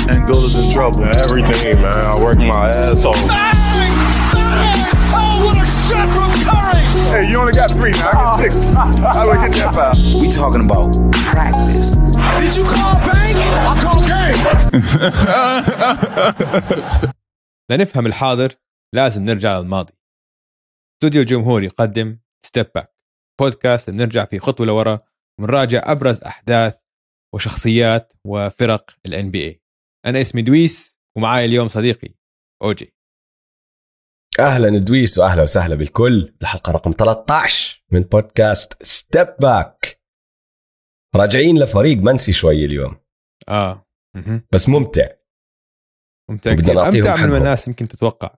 Angola's in trouble. Everything, man. I work my ass off. Oh, what a shot from Curry! Hey, you only got 3 now. I get 6. How do I get that foul? We talking about practice. Did you call bank? I call game. لنفهم الحاضر لازم نرجع للماضي. استوديو الجمهور يقدم ستيب باك، بودكاست بنرجع فيه خطوة لورا ونراجع أبرز أحداث وشخصيات وفرق ال NBA. أنا اسمي دويس ومعاي اليوم صديقي أوجي. أهلا دويس وأهلا وسهلا بالكل. الحلقة رقم 13 من بودكاست ستيب باك. راجعين لفريق منسي شوي اليوم. بس ممتع أمتع من الناس يمكن تتوقع.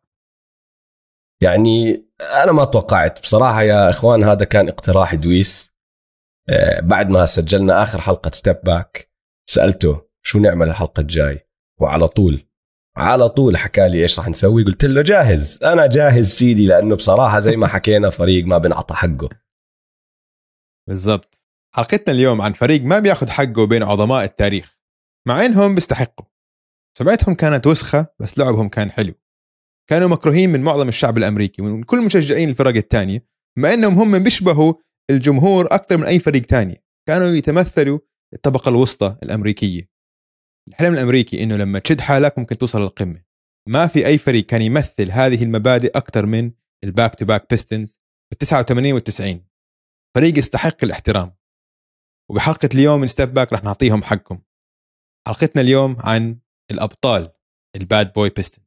يعني أنا ما توقعت بصراحة يا إخوان. هذا كان اقتراح دويس بعد ما سجلنا آخر حلقة ستيب باك. سألته شو نعمل الحلقة الجاي، وعلى طول حكى لي إيش راح نسوي. قلت له جاهز، أنا جاهز سيدي، لأنه بصراحة زي ما حكينا فريق ما بنعطى حقه. بالضبط. حلقتنا اليوم عن فريق ما بياخد حقه بين عظماء التاريخ، مع إنهم بيستحقوا. سمعتهم كانت وسخة بس لعبهم كان حلو. كانوا مكروهين من معظم الشعب الأمريكي ومن كل مشجعين الفرق التانية، مع إنهم هم بيشبهوا الجمهور أكثر من أي فريق تاني. كانوا يتمثلوا الطبقة الوسطى الأمريكية. الحلم الأمريكي إنه لما تشد حالك ممكن توصل للقمة. ما في أي فريق كان يمثل هذه المبادئ أكثر من الباك تو باك بيستنز في 89 وال90. فريق يستحق الاحترام، وبحلقة اليوم من ستيب باك رح نعطيهم حقهم. حلقتنا اليوم عن الأبطال الباد بوي بيستنز.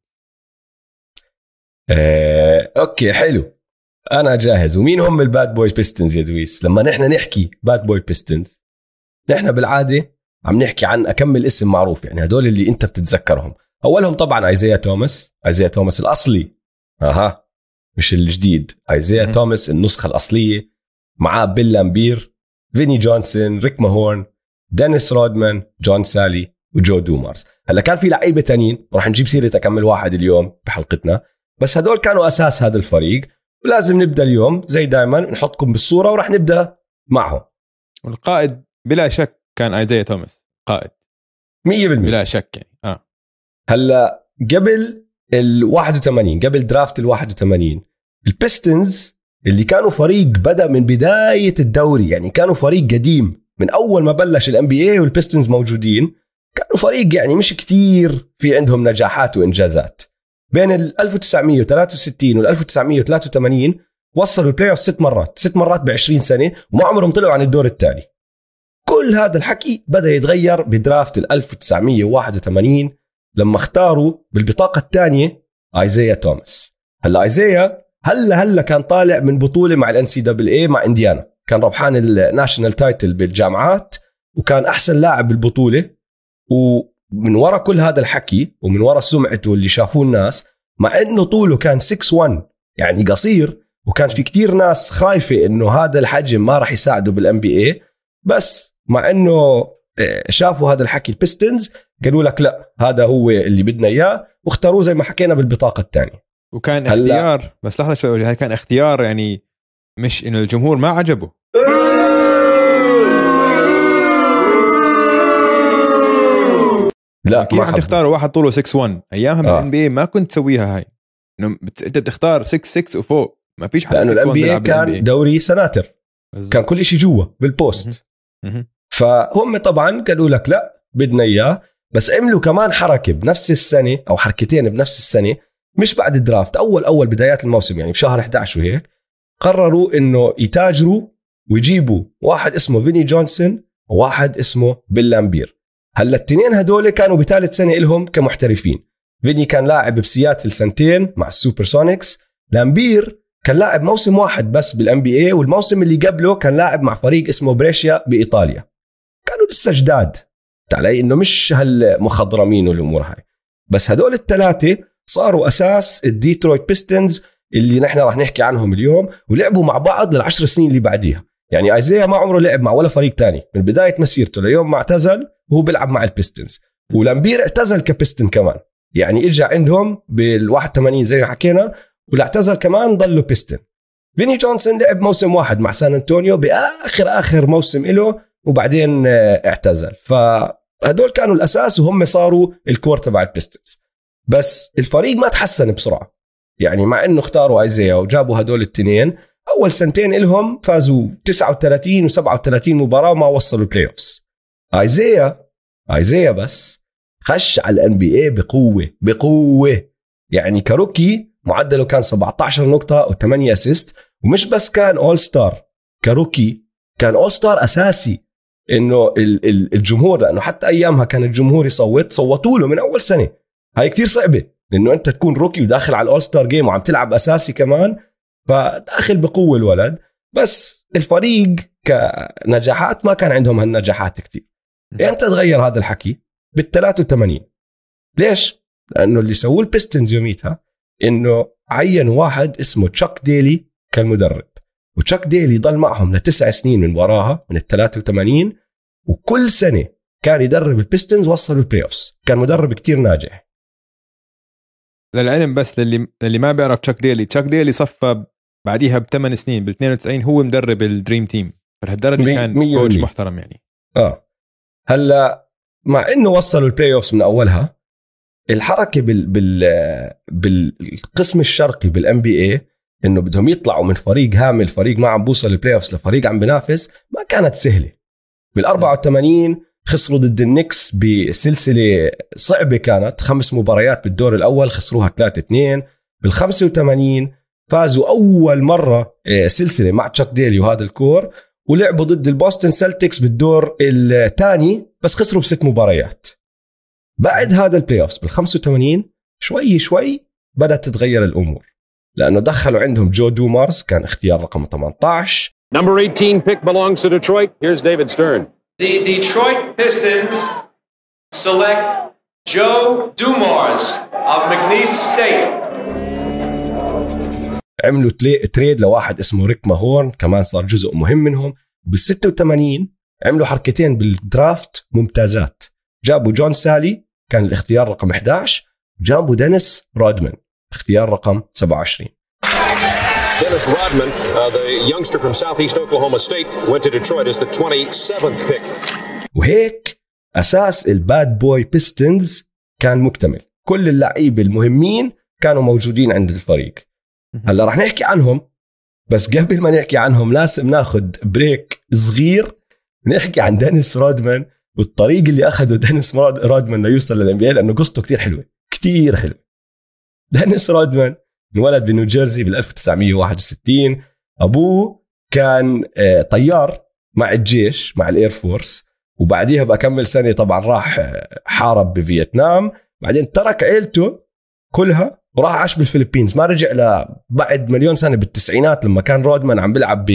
أوكي حلو، أنا جاهز. ومين هم الباد بوي بيستنز يا دويس؟ لما نحن نحكي باد بوي بيستنز نحن بالعادة عم نحكي عن أكمل اسم معروف، يعني هدول اللي أنت بتتذكرهم. أولهم طبعا ايزايا توماس الأصلي، مش الجديد. ايزايا توماس النسخة الأصلية، معاه بيل لامبير، فيني جونسون، ريك ماهورن، دينيس رودمان، جون سالي، وجو دومارز. هلا كان في لعيبة تانيين راح نجيب سيرة أكمل واحد اليوم بحلقتنا، بس هدول كانوا أساس هذا الفريق. ولازم نبدأ اليوم زي دائما نحطكم بالصورة وراح نبدأ معهم. والقائد بلا شك كان ايزايا توماس، قائد 100% بلا شك يعني. هلا قبل ال81، قبل درافت ال81، البيستنز اللي كانوا فريق بدأ من بداية الدوري، يعني كانوا فريق قديم من أول ما بلش ال NBA والبيستنز موجودين. كانوا فريق يعني مش كتير في عندهم نجاحات وإنجازات. بين ال 1963 وال 1983 وصلوا البلاي اوف 6 مرات ب20 سنة، وما عمرهم طلعوا عن الدور الثاني. كل هذا الحكي بدأ يتغير بدرافت ال 1981 لما اختاروا بالبطاقة الثانية ايزايا توماس. هلا ايزايا هلا كان طالع من بطولة مع الان سي دبل اي مع انديانا، كان ربحان الناشنال تايتل بالجامعات وكان احسن لاعب بالبطولة. ومن وراء كل هذا الحكي ومن وراء سمعته اللي شافوه الناس، مع انه طوله كان 6'1 يعني قصير، وكان في كتير ناس خايفة انه هذا الحجم ما راح يساعده بالان بي اي، بس مع انه شافوا هذا الحكي البيستنز قالوا لك لا، هذا هو اللي بدنا اياه، واختاروه زي ما حكينا بالبطاقة الثانية. وكان اختيار، بس لحظة شوي، هاي كان اختيار يعني مش انه الجمهور ما عجبه. لا كيف عم تختاروا واحد طوله 6'1 ايامها بالان بي ما كنت تسويها هاي، انه انت بتختار 6'6 وفوق، ما فيش حدا. لانه الان بي كان دوري سناتر بالزبط. كان كل شيء جوا بالبوست. فهم طبعا قالوا لك لا بدنا اياه، بس عملوا كمان حركه بنفس السنه او حركتين بنفس السنه، مش بعد الدرافت، اول بدايات الموسم يعني بشهر 11 وهيك، قرروا انه يتاجروا ويجيبوا واحد اسمه فيني جونسون وواحد اسمه بيل لامبير. هلا الاثنين هدول كانوا بثالث سنه لهم كمحترفين. فيني كان لاعب بسياتل سنتين مع السوبر سونيكس، لامبير كان لاعب موسم واحد بس بالان بي اي، والموسم اللي قبله كان لاعب مع فريق اسمه بريشيا بايطاليا. كانوا لسه جداد علي، انه مش هالمخضرمين والامور هاي، بس هدول الثلاثه صاروا اساس الديترويت بيستنز اللي نحن راح نحكي عنهم اليوم، ولعبوا مع بعض لل10 سنين اللي بعديها. يعني ايزايا ما عمره لعب مع ولا فريق تاني من بدايه مسيرته ليوم ما اعتزل وهو بيلعب مع البيستنز. ولامبير اعتزل كبيستن كمان، يعني اجى عندهم بال81 زي ما حكينا، واعتزل كمان ضلوا بيستن. فيني جونسون لعب موسم واحد مع سان أنطونيو بآخر موسم له، وبعدين اعتزل. هدول كانوا الأساس وهم صاروا الكور تبع البيستنز. بس الفريق ما تحسن بسرعة، يعني مع إنه اختاروا ايزايا وجابوا هدول التنين، أول سنتين إلهم فازوا 39 و37 مباراة وما وصلوا البلاي أوفس. ايزايا بس خش على الNBA بقوة يعني كروكي معدله كان 17 نقطة و8 أسيست، ومش بس كان أول ستار، كروكي كان أول ستار أساسي. إنه الجمهور، لأنه حتى أيامها كان الجمهور صوتوا له من أول سنة. هاي كتير صعبة إنه أنت تكون روكي وداخل على الأول ستار جيم وعم تلعب أساسي كمان، فداخل بقوة الولد. بس الفريق كنجاحات ما كان عندهم هالنجاحات كتير. أنت تغير هذا الحكي بال83. ليش؟ لأنه اللي سووه البيستنز يوميتها إنه عين واحد اسمه تشاك ديلي كالمدرب، وتشاك ديلي ضل معهم ل9 سنين من وراها من ال83، وكل سنة كان يدرب البيستنز وصلوا البلاي أوفس. كان مدرب كتير ناجح. للعلم بس للي ما بيعرف تشاك ديلي صفى بعديها ب8 سنين بال92 هو مدرب الدريم تيم، فلهالدرجة كان كوتش محترم يعني. هلا مع إنه وصلوا البلاي أوفس من أولها، الحركة بالقسم الشرقي بالNBA إنه بدهم يطلعوا من فريق هامل، فريق ما عم بوصل البلاي أوفس، لفريق عم بنافس، ما كانت سهلة. بال84 خسروا ضد النكس بسلسلة صعبة، كانت 5 مباريات بالدور الأول خسروها 3-2. بال85 فازوا أول مرة سلسلة مع تشاك ديلي وهذا الكور، ولعبوا ضد البوستن سلتكس بالدور الثاني بس خسروا ب6 مباريات. بعد هذا البلاي أوفس بال85 شوي بدأت تتغير الأمور، لأنه دخلوا عندهم جو دومارز كان اختيار رقم 18. Number 18 pick belongs to Detroit. Here's David Stern. The Detroit Pistons select Joe Dumars of McNeese State. عملوا تريد لواحد اسمه ريك ماهورن، كمان صار جزء مهم منهم. بال86 عملوا حركتين بالدرافت ممتازات، جابوا جون سالي كان الاختيار رقم 11، جابوا دينيس رودمان اختيار رقم 27. Dennis Rodman, the youngster from Southeast Oklahoma State, went to Detroit as the 27th pick. وهيك أساس الباد بوي بيستنز كان مكتمل، كل اللعيبة المهمين كانوا موجودين عند الفريق. هلا رح نحكي عنهم، بس قبل ما نحكي عنهم لازم ناخد بريك صغير نحكي عن دينيس رودمان والطريق اللي أخده دينيس رودمان ليوصل للNBA، لأنه قصته كتير حلوة. دينيس رودمان انولد بنيوجيرسي بال1961. أبوه كان طيار مع الجيش مع الإير فورس، وبعديها بكمل سنة طبعا راح حارب بفيتنام، بعدين ترك عيلته كلها وراح عاش بالفلبينز. ما رجع بعد مليون سنة بالتسعينات لما كان رودمان عم بيلعب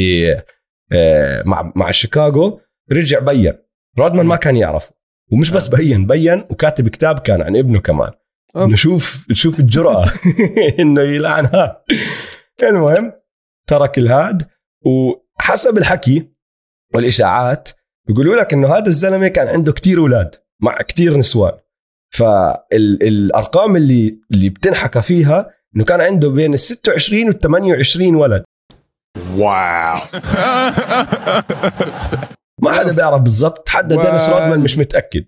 مع شيكاغو. رجع بيّن. رودمان ما كان يعرفه، ومش بس بيّن وكاتب كتاب كان عن ابنه كمان. نشوف الجرأة إنه يلعنها. المهم ترك الهاد، وحسب الحكي والإشاعات يقولوا لك إنه هذا الزلمة كان عنده كتير أولاد مع كتير نسوان. فالأرقام اللي بتنحكى فيها إنه كان عنده بين 26 و28 ولد. واو. ما حدا بيعرف بالضبط، حتى دينيس رودمان مش متأكد.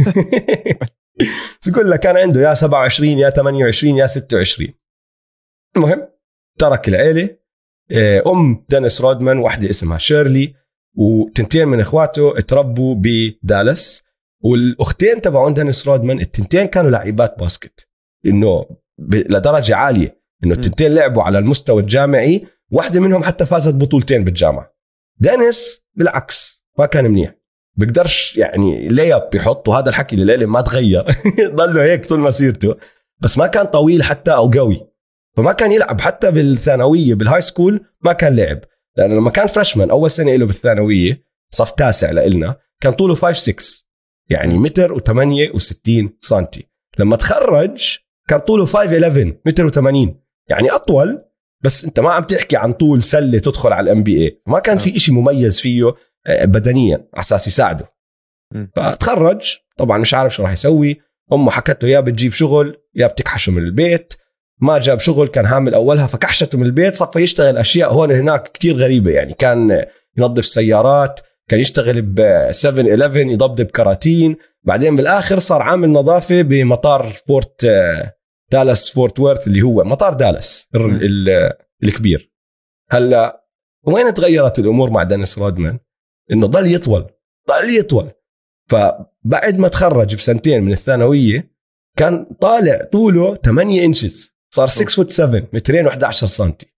يقول لك كان عنده يا 27 يا 28 يا 26. المهم ترك العيلة. أم دينيس رودمان واحدة اسمها شيرلي، وتنتين من إخواته اتربوا بدالاس، والأختين تبعون دينيس رودمان التنتين كانوا لاعبات باسكت، إنه لدرجة عالية، إنه التنتين لعبوا على المستوى الجامعي، واحدة منهم حتى فازت بطولتين بالجامعة. دينيس بالعكس ما كان منيح، بقدرش يعني لياب بيحط، وهذا الحكي الليلة ما تغير. ضله هيك طول مسيرته، بس ما كان طويل حتى أو قوي، فما كان يلعب حتى بالثانوية بالهاي سكول ما كان لعب، لأنه لما كان فريشمان أول سنة له بالثانوية صف 9 لإلنا كان طوله 5'6", يعني 1.68 سنتي. لما تخرج كان طوله 5'11 1.80، يعني أطول، بس أنت ما عم تحكي عن طول سلة تدخل على الNBA. ما كان في إشي مميز فيه بدنيا على أساس يساعده. فتخرج طبعا مش عارف شو راح يسوي. أمه حكته يا بتجيب شغل يا بتكحشه من البيت. ما جاب شغل، كان حامل أولها فكحشته من البيت، صفى يشتغل أشياء هون هناك كتير غريبة. يعني كان ينظف سيارات، كان يشتغل ب 7-11 يضبط كراتين، بعدين بالاخر صار عامل نظافه بمطار فورت دالاس فورت وورث اللي هو مطار دالاس الكبير. هلا وين تغيرت الامور مع دينيس رودمان؟ انه ضل يطول. فبعد ما تخرج بسنتين من الثانويه كان طالع طوله 8 انشز، صار 6'7", 211 سنتي.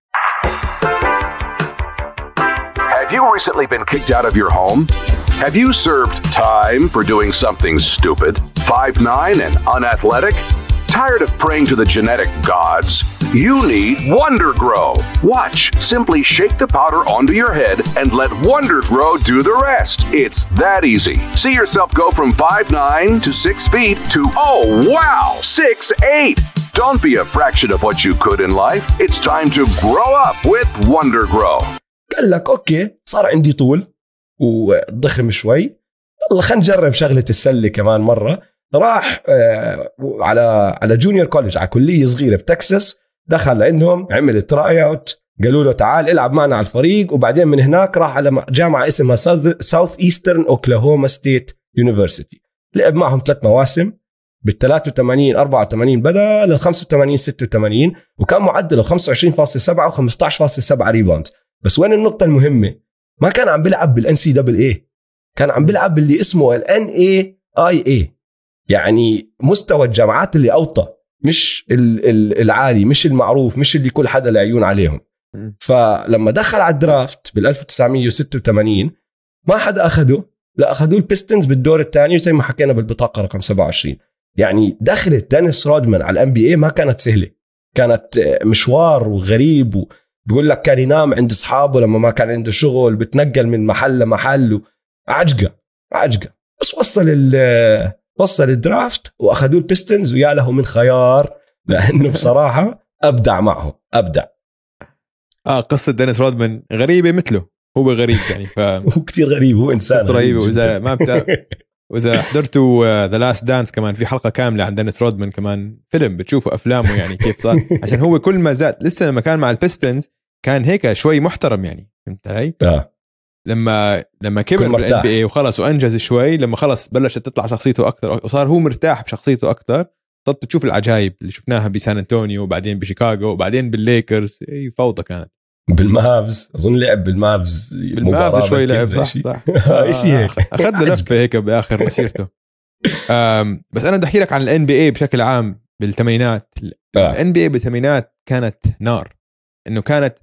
Have you recently been kicked out of your home? Have you served time for doing something stupid, 5'9" and unathletic? Tired of praying to the genetic gods? You need Wonder Grow. Watch. Simply shake the powder onto your head and let Wonder Grow do the rest. It's that easy. See yourself go from 5'9" to 6 feet to, oh wow, 6'8". Don't be a fraction of what you could in life. It's time to grow up with Wonder Grow. قال لك اوكي صار عندي طول وضخم شوي، يلا خلينا نجرب شغله السله كمان مره. راح على جونيور كوليج، على كليه صغيره بتكساس، دخل عندهم عمل تراي اوت، قالوا له تعال العب معنا على الفريق، وبعدين من هناك راح على جامعه اسمها ساوث ايسترن اوكلاهوما ستيت يونيفرسيتي. لعب معهم 3 مواسم بال 83 84 بدا لل 85 86، وكان معدله 25.7 و15.7 ريباوند. بس وين النقطة المهمة؟ ما كان عم بيلعب بالان سي دبل اي، كان عم بيلعب باللي اسمه الان اي اي، يعني مستوى الجامعات اللي اوطى، مش العالي، مش المعروف، مش اللي كل حدا العيون عليهم. فلما دخل على الدرافت بال 1986 ما حدا اخده، لا اخذوه البيستنز بالدور الثاني زي ما حكينا بالبطاقة رقم 27. يعني دخلت دينيس رودمان على الان بي اي ما كانت سهلة، كانت مشوار وغريب، بيقول لك كان ينام عند أصحابه لما ما كان عنده شغل، بتنقل من محل لمحل، عجقة. بس وصل الدرافت وأخذوه البيستنز، ويا له من خيار، لأنه بصراحة أبدع معه. قصة دينيس رودمان غريبة مثله، هو غريب يعني هو كتير غريب، هو إنسان غريب. وإذا ما وإذا حضرتوا The Last Dance كمان في حلقة كاملة عن دينيس رودمان، كمان فيلم بتشوفوا أفلامه يعني كيف صار، عشان هو كل ما زاد لسه لما كان مع البيستنز كان هيك شوي محترم يعني، فهمت علي؟ لما كبر بالان بي اي وخلص وانجز شوي، لما خلص بلشت تطلع شخصيته اكثر وصار هو مرتاح بشخصيته اكثر، صرت تشوف العجائب اللي شفناها بسان انطونيو وبعدين بشيكاغو وبعدين بالليكرز. اي فوضى كانت. بالمافز اظن لعب بالمافز شوي لعب صح شيء هيك، اخذ لفه هيك باخر مسيرته. بس انا بدي احكي لك عن الان بي اي بشكل عام بالثمانينات. الان بي اي بالثمانينات كانت نار، انه كان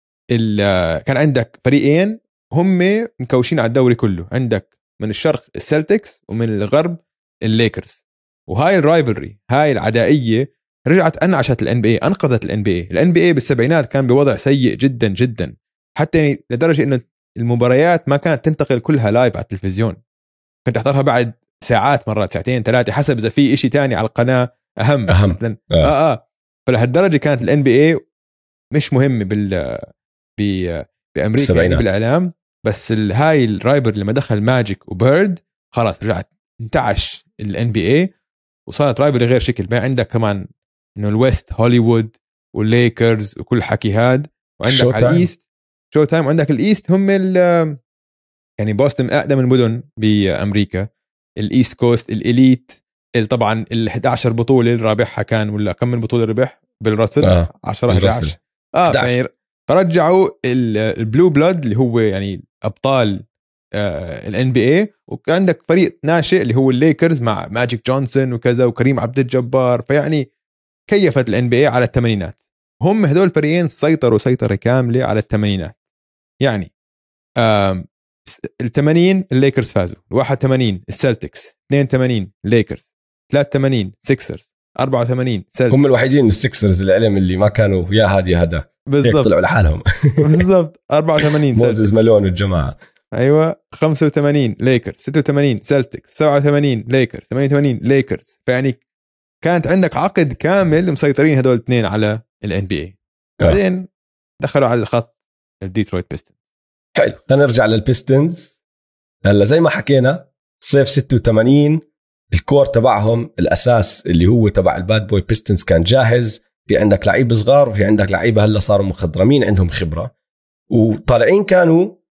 عندك فريقين هم مكوشين على الدوري كله، عندك من الشرق السلتكس ومن الغرب الليكرز، وهاي الرايفلري، هاي العدائيه رجعت انعشت الان بي اي، انقذت الان بي اي. الان بي اي بالسبعينات كان بوضع سيء جدا جدا، حتى يعني لدرجه انه المباريات ما كانت تنتقل كلها لايف على التلفزيون، كنت تحضرها بعد ساعات، مرات ساعتين 3 حسب اذا في إشي تاني على القناه اهم. مثلا فلهالدرجه كانت الان بي اي مش مهمه بامريكا يعني بالاعلام. بس هاي الرايبر لما دخل ماجيك وبيرد خلاص رجعت انتعش الان بي اي وصارت رايبر غير شكل. بقى عندك كمان انه الويست هوليوود والليكرز وكل حكي هاد، وعندك على الايست شو تايم، وعندك الايست هم يعني بوسطن اقدم المدن بامريكا، الايست كوست الاليت طبعا ال11 بطوله اللي رابحها كان، ولا كم من بطوله ربح بالرسل 10 11 يعني فرجعوا البلو بلود اللي هو يعني ابطال الان بي اي. وعندك فريق ناشئ اللي هو الليكرز مع ماجيك جونسون وكذا وكريم عبد الجبار، فيعني كيفت الان بي اي على الثمانينات. هم هدول الفريقين سيطروا سيطره كامله على الثمانينات. يعني ال80 الليكرز فازوا، 81 السلتكس، 82 الليكرز، 83 سيكسرز، 84 سلتكس. هم الوحيدين السيكسرز العلم اللي ما كانوا يا هادي هذا بالضبط، طلعوا لحالهم بالضبط. 84 موزيس مالون والجماعه، ايوه. 85 ليكرز، 86 سلتكس، 87 ليكرز، 88 ليكرز. فيعني كانت عندك عقد كامل مسيطرين هدول الاثنين على الان بي اي. بعدين دخلوا على الخط الديترويت بيستنز. حلو، نرجع للبيستنز. هلا زي ما حكينا صيف 86 الكور تبعهم الاساس اللي هو تبع الباد بوي بيستنز كان جاهز. في عندك لعيبه صغار وفي عندك لعيبه هلا صاروا مخضرمين عندهم خبره، وطالعين كانوا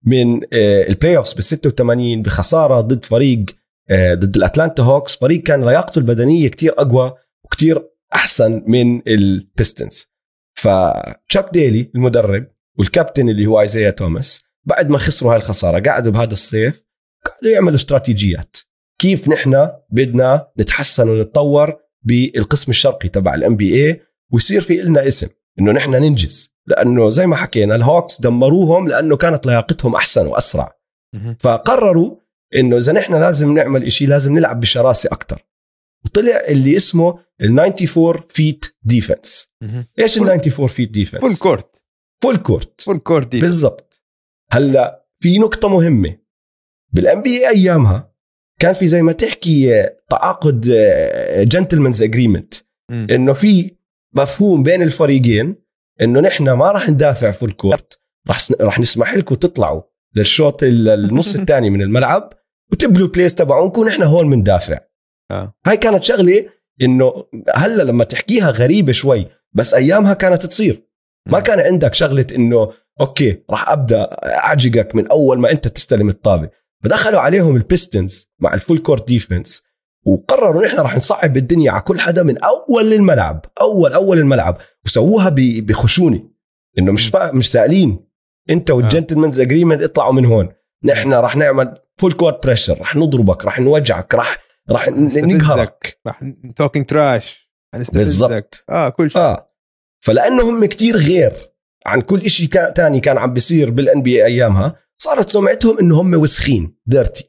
من البلاي اوفز بال86 بخساره ضد فريق ضد الاتلانتا هوكس، فريق كان لياقته البدنيه كتير اقوى وكتير احسن من البيستنز. فتشاك ديلي المدرب والكابتن اللي هو ايزايا توماس بعد ما خسروا هاي الخساره قعدوا بهذا الصيف قعدوا يعملوا استراتيجيات كيف نحن بدنا نتحسن ونتطور بالقسم الشرقي تبع الNBA ويصير في لنا اسم انه نحن ننجز، لانه زي ما حكينا الهوكس دمروهم لانه كانت لياقتهم احسن واسرع. فقرروا انه اذا نحن لازم نعمل إشي لازم نلعب بشراسه اكتر، وطلع اللي اسمه ال94 فيت ديفنس. ايش ال94 فيت ديفنس؟ فول كورت بالضبط. هلا في نقطه مهمه بالNBA ايامها كان في زي ما تحكي تعاقد جنتلمنز اجريمنت، انه في مفهوم بين الفريقين انه نحن ما راح ندافع فول كورت، راح نسمح لكم تطلعوا للشوط النص الثاني من الملعب وتبلوا بليس تبعونكم نحن هون مندافع. هاي كانت شغله انه هلا لما تحكيها غريبه شوي، بس ايامها كانت تصير. ما كان عندك شغله انه اوكي راح ابدا اعجقك من اول ما انت تستلم الطابه. فدخلوا عليهم البيستنز مع الفول كورت ديفنس وقرروا نحن راح نصعب الدنيا على كل حدا من اول الملعب، اول الملعب، وسووها بخشونه انه مش سائلين انت والجنتلمنز اجريمنت اطلعوا من هون، نحن راح نعمل فول كورت بريشر، راح نضربك، راح نوجعك، راح نقهرك، راح توكينج تراش، بالضبط. كل شيء. فلانه هم كتير غير عن كل إشي تاني كان عم بيصير بالNBA ايامها، صارت سمعتهم انه هم وسخين ديرتي.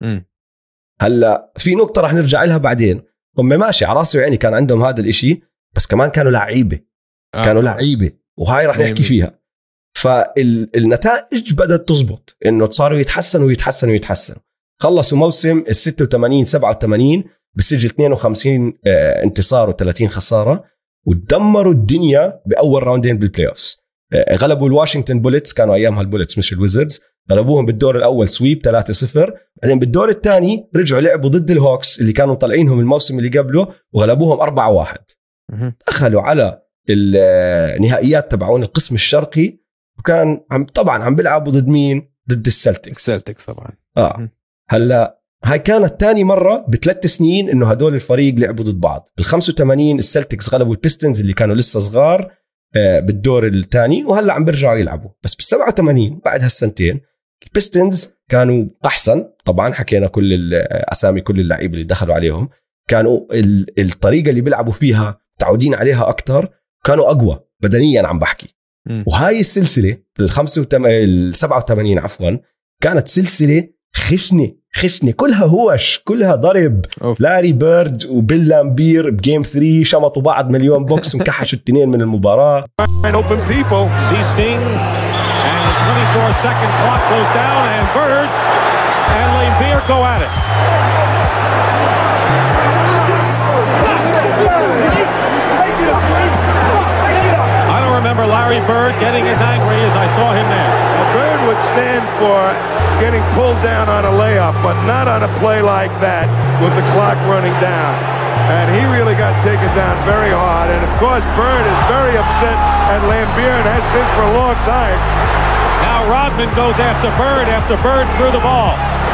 هلا في نقطه راح نرجع لها بعدين، هم ماشي على راسي وعيني كان عندهم هذا الإشي، بس كمان كانوا لعيبه كانوا لعيبه، وهاي راح نحكي فيها. فالنتائج بدأت تزبط، انه صاروا يتحسنوا. خلصوا موسم 86-87 بسجل 52 انتصار و30 خساره، ودمروا الدنيا باول راوندين بالبلاي اوفز. غلبوا الواشنطن بوليتس، كانوا ايامها البوليتس مش الويزردز، غلبوهم بالدور الاول سويب 3-0. بعدين بالدور الثاني رجعوا لعبوا ضد الهوكس اللي كانوا طالعينهم الموسم اللي قبله وغلبوهم 4-1. دخلوا على النهائيات تبعون القسم الشرقي، وكان طبعا عم بيلعبوا ضد مين؟ ضد السلتكس طبعا. هلا هاي كانت تاني مرة ب3 سنين انه هدول الفريق لعبوا ضد بعض. بال85 السلتكس غلبوا البيستنز اللي كانوا لسه صغار بالدور الثاني، وهلا عم بيرجعوا يلعبوا. بس بال87 بعد هالسنتين البيستنز كانوا احسن، طبعا حكينا كل الاسامي كل اللعيبه اللي دخلوا عليهم، كانوا الطريقه اللي بيلعبوا فيها تعودين عليها اكتر، كانوا اقوى بدنيا عم بحكي. وهاي السلسله بال87 عفوا كانت سلسله خشنه كلها هوش، كلها ضرب. لاري بيرد وبيل لامبير بجيم 3 شمطوا بعض مليون بوكس ومكحشوا التنين من المباراه. Open people. See Sting and the 24-second clock goes down and Bird and Lambier go at it. I don't remember Larry Bird getting as angry as I saw him there. Well, Bird would stand for getting pulled down on a layup, but not on a play like that with the clock running down. And he really got taken down very hard. And of course, Bird is very upset at Lambier and has been for a long time. Now Rodman goes after Bird threw the ball.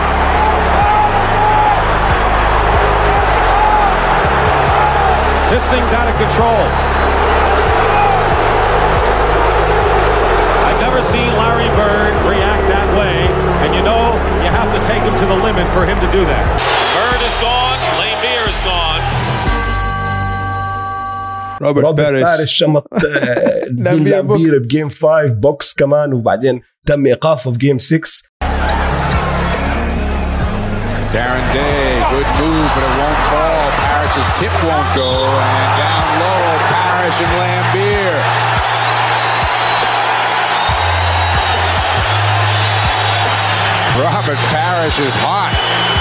This thing's out of control. I've never seen Larry Bird react that way, and you know you have to take him to the limit for him to do that. Bird is gone, Lambier is gone. روبرت باريش شمط لامبير بجيم 5 بوكس كمان، وبعدين تم إيقافه بجيم 6. Darren Day, good move, but it won't fall. Parrish's tip won't go, and down low, Parrish and Lambier. Robert Parrish is hot.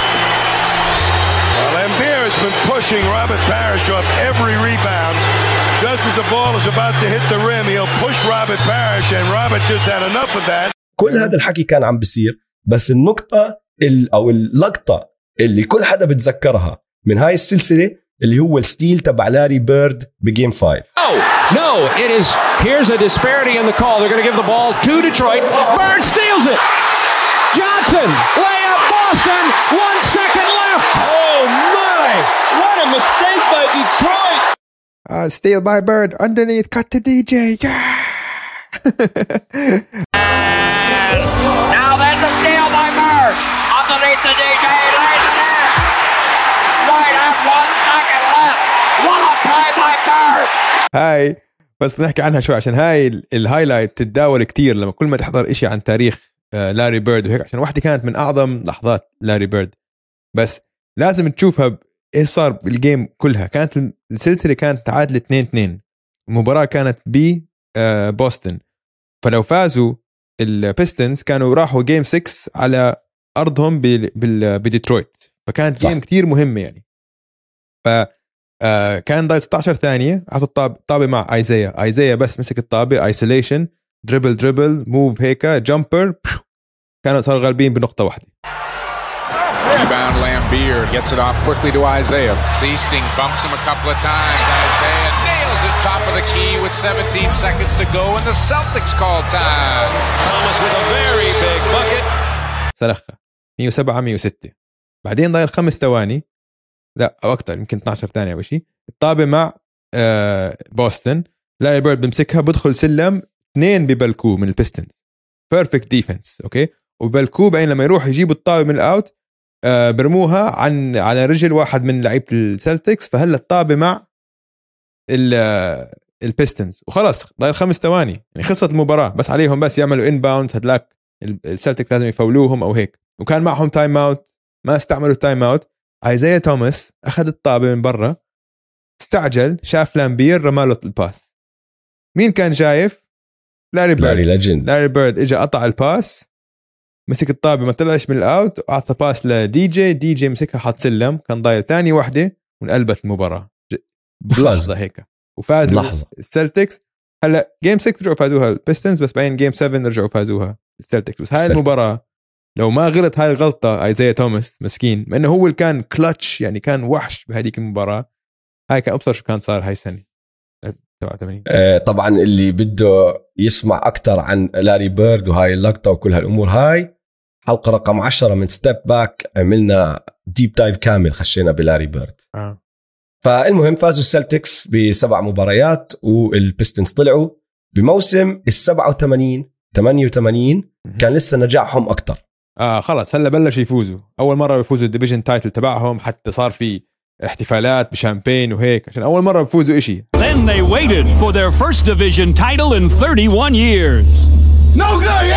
Well, Lambier has been pushing Robert Parrish off every rebound. Just as the ball is about to hit the rim, he'll push Robert Parrish, and Robert just had enough of that. كل هذا الحكي كان عم بيصير، بس النقطة أو اللقطة اللي كل حدا بتذكرها من هاي السلسلة اللي هو الستيل تبع لاري بيرد بجيم 5. No, it is. Here's a disparity in the call. They're going to give the ball to Detroit. Bird steals it. Johnson, layup, Boston, 1 second left. Oh my, what a mistake by Detroit. Steal by Bird, underneath, cut to DJ. Yeah! Now there's a steal by Bird, underneath the DJ, lays it in. Right at 1 second left. What a play by Bird. هاي بس نحكي عنها شوي عشان هاي الهايلايت تتداول كتير لما كل ما تحضر إشي عن تاريخ لاري بيرد وهيك، عشان واحدة كانت من أعظم لحظات لاري بيرد، بس لازم تشوفها إيش صار بالجيم كلها. كانت السلسلة كانت تعادل 2-2، المباراة كانت بوسطن، فلو فازوا البيستنز كانوا راحوا جيم 6 على أرضهم بديترويت، فكانت جيم كتير مهمة يعني. كان ضايل 16 ثانية، عطوا الطابة مع ايزايا بس مسك الطابة، ايسوليشن، دريبل موف هيك جامبر، كانوا صاروا غالبين بنقطة واحدة. Rebound Lambeer gets it off quickly to Isaiah. Seasting bumps him a couple of times. Isaiah nails it top of the key with 17 seconds to go and the Celtics call time. Thomas with a very big bucket. سلخة 107-106. بعدين ضايل 5 ثواني، لا أو أكتر، يمكن 12 ثانية أو شيء، الطابة مع بوسطن، لاري بيرد بمسكها بدخل سلم، 2 ببلكو من البيستنز، بيرفكت ديفنس اوكي، وبلكو بعدين لما يروح يجيب الطابة من الاوت برموها على رجل واحد من لعيبة السلتكس، فهلا الطابة مع البيستنز وخلاص ضايل 5 ثواني يعني خلصت المباراة، بس عليهم بس يعملوا انباوند، هدلاك السلتكس لازم يفولوهم او هيك، وكان معهم تايم اوت ما استعملوا تايم اوت. ايزايا توماس اخذ الطابة من برا، استعجل، شاف لامبير، رماله الباس. مين كان شايف؟ لاري بيرد اجى قطع الباس، مسك الطابة ما طلعش من الاوت، واعطى باس لدي جي مسكها حط سلم، كان ضايل ثاني واحدة وانقلبت المباراة بلحظة هيك، وفازوا السلتكس. هلا جيم 6 رجعوا فازوها البيستنز، بس بعدين جيم 7 رجعوا فازوها السلتكس. بس هاي المباراة لو ما غلط هاي الغلطة ايزايا توماس مسكين، ما انه هو اللي كان كلتش يعني، كان وحش بهذيك المباراة، هاي كان أبصر شو كان صار هاي السنة 87. طبعا اللي بده يسمع أكتر عن لاري بيرد وهاي اللقطة وكل هالأمور، هاي حلقة رقم 10 من ستيب باك، عملنا ديب دايف كامل، خشينا بلاري بيرد. فالمهم فازوا السلتكس ب7 مباريات، والبيستنز طلعوا بموسم 87-88 كان لسه نجاحهم أكتر. خلاص هلا بلش يفوزوا، أول مرة بيفوزوا الديفيجن تايتل تبعهم، حتى صار في احتفالات بشامبين وهيك عشان أول مرة بفوزوا إشي. Then they waited for their first division title in 31 years. No good!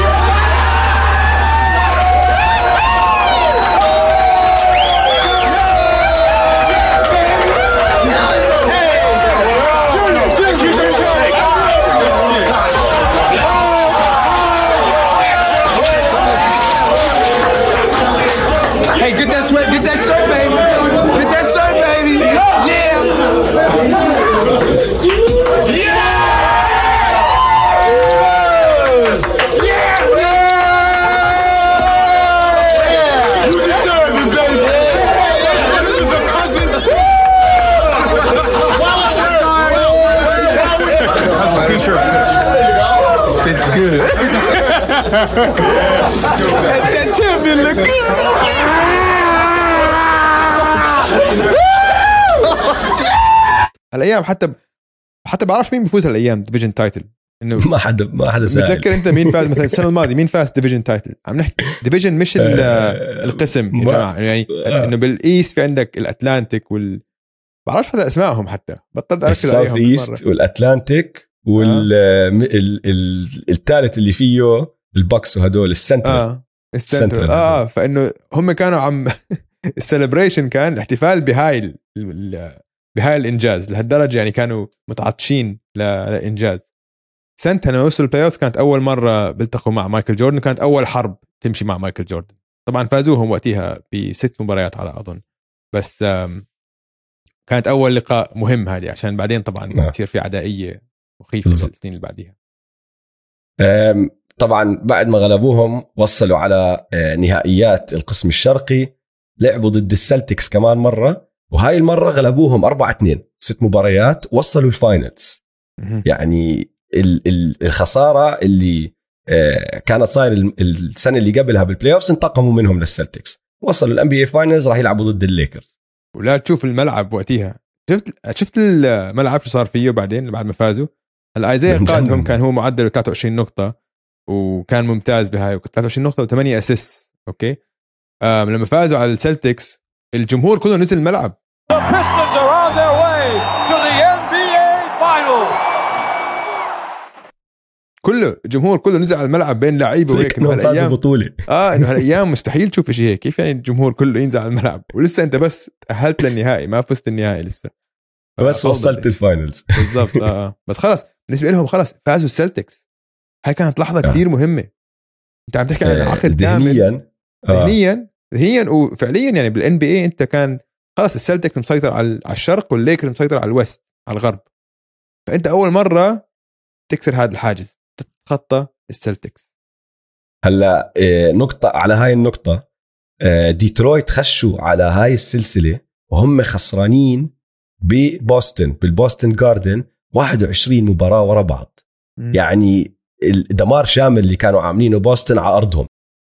Hey, get that sweat, get that shirt, baby. Get that shirt, baby. Yeah. Yes. You deserve it, baby. This is a cousin. How's the t-shirt fit? Fits good. That champion look good. الأيام حتى بعرفش مين بيفوز هالأيام ديفيجن تايتل، إنه ما حدا سائل. بتذكر أنت مين فاز مثلا السنة الماضية مين فاز ديفيجن تايتل؟ عم نحكي ديفيجن مش القسم يا جماعة، يعني إنه بالإيست في عندك الأتلانتيك بعرفش حتى أسمائهم، حتى بطلت أركز عليهم. الساوث إيست والأتلانتيك والثالث اللي فيه البوكس وهدول السنترال. السنترال فإنه هم كانوا عم السليبريشن كان الاحتفال بهاي الإنجاز لهالدرجة، يعني كانوا متعطشين لإنجاز. سنتنا وصلوا البلاي أوفز، كانت أول مرة بيلتقوا مع مايكل جوردن، كانت أول حرب تمشي مع مايكل جوردن. طبعا فازوهم وقتها ب6 مباريات على أظن، بس كانت أول لقاء مهم هذه، عشان بعدين طبعا تصير في عدائية مخيفة في السنين اللي بعديها. طبعا بعد ما غلبوهم وصلوا على نهائيات القسم الشرقي، لعبوا ضد السلتكس كمان مرة، وهاي المرة غلبوهم 4-2، 6 مباريات، وصلوا الفاينلز. يعني الخسارة اللي كانت صاير السنه اللي قبلها بالبلاي اوفز، انتقموا منهم للسلتكس، وصلوا الان بي اي فاينلز، راح يلعبوا ضد الليكرز. ولا تشوف الملعب وقتها، شفت الملعب شو صار فيه بعدين بعد ما فازوا. هلا ايزايا قادهم كان هو معدله 23 نقطه وكان ممتاز بهاي، 23 نقطه و8 اسيست. اوكي لما فازوا على السلتكس الجمهور كله نزل الملعب. The Pistons are on their way to the NBA Finals. كله الجمهور كله نزل على الملعب بين لعيبه وهيك. انه فازوا بطوله. انه هالايام مستحيل تشوف شيء هيك. كيف يعني الجمهور كله ينزل على الملعب ولسه انت بس تاهلت للنهائي، ما فزت النهائي لسه، بس وصلت الفاينلز بالضبط. بس خلص بالنسبه لهم خلص فازوا السلتكس. هاي كانت لحظه كثير مهمه. انت عم تحكي عن العقل ذهنيا وفعليا. يعني بالان بي اي انت كان خلص السلتكس مسيطر على الشرق والليكرز مسيطر على الويست على الغرب، فانت اول مره تكسر هذا الحاجز، تتخطى السلتكس. هلا نقطه على هاي النقطه، ديترويت خشوا على هاي السلسله وهم خسرانين ببوسطن بالبوسطن جاردن 21 مباراه ورا بعض. يعني الدمار شامل اللي كانوا عاملينه بوسطن على ارضهم.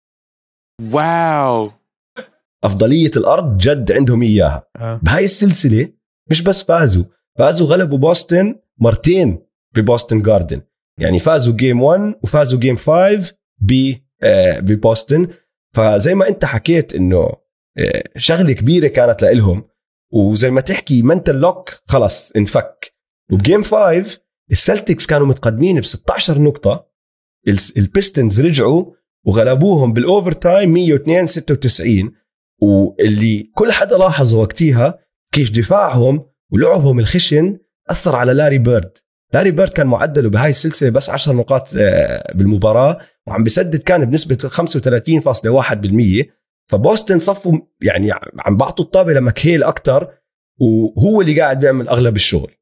واو، افضليه الارض جد عندهم اياها. بهاي السلسله مش بس فازوا غلبوا بوسطن مرتين ببوسطن جاردن. يعني فازوا جيم 1 وفازوا جيم 5 ببوسطن. فزي ما انت حكيت انه شغله كبيره كانت لهم، وزي ما تحكي منتل لوك خلص انفك. وبجيم 5 السلتكس كانوا متقدمين ب16 نقطه، البيستنز رجعوا وغلبوهم بالاوفر تايم 102-96. واللي كل حدا لاحظه وقتها كيف دفاعهم ولعبهم الخشن اثر على لاري بيرد. لاري بيرد كان معدله بهاي السلسله بس 10 نقاط بالمباراه، وعم بيسدد كان بنسبه 35.1%. فبوسطن صفوا يعني عم بعطوا الطابه لمكهيل اكتر، وهو اللي قاعد بيعمل اغلب الشغل.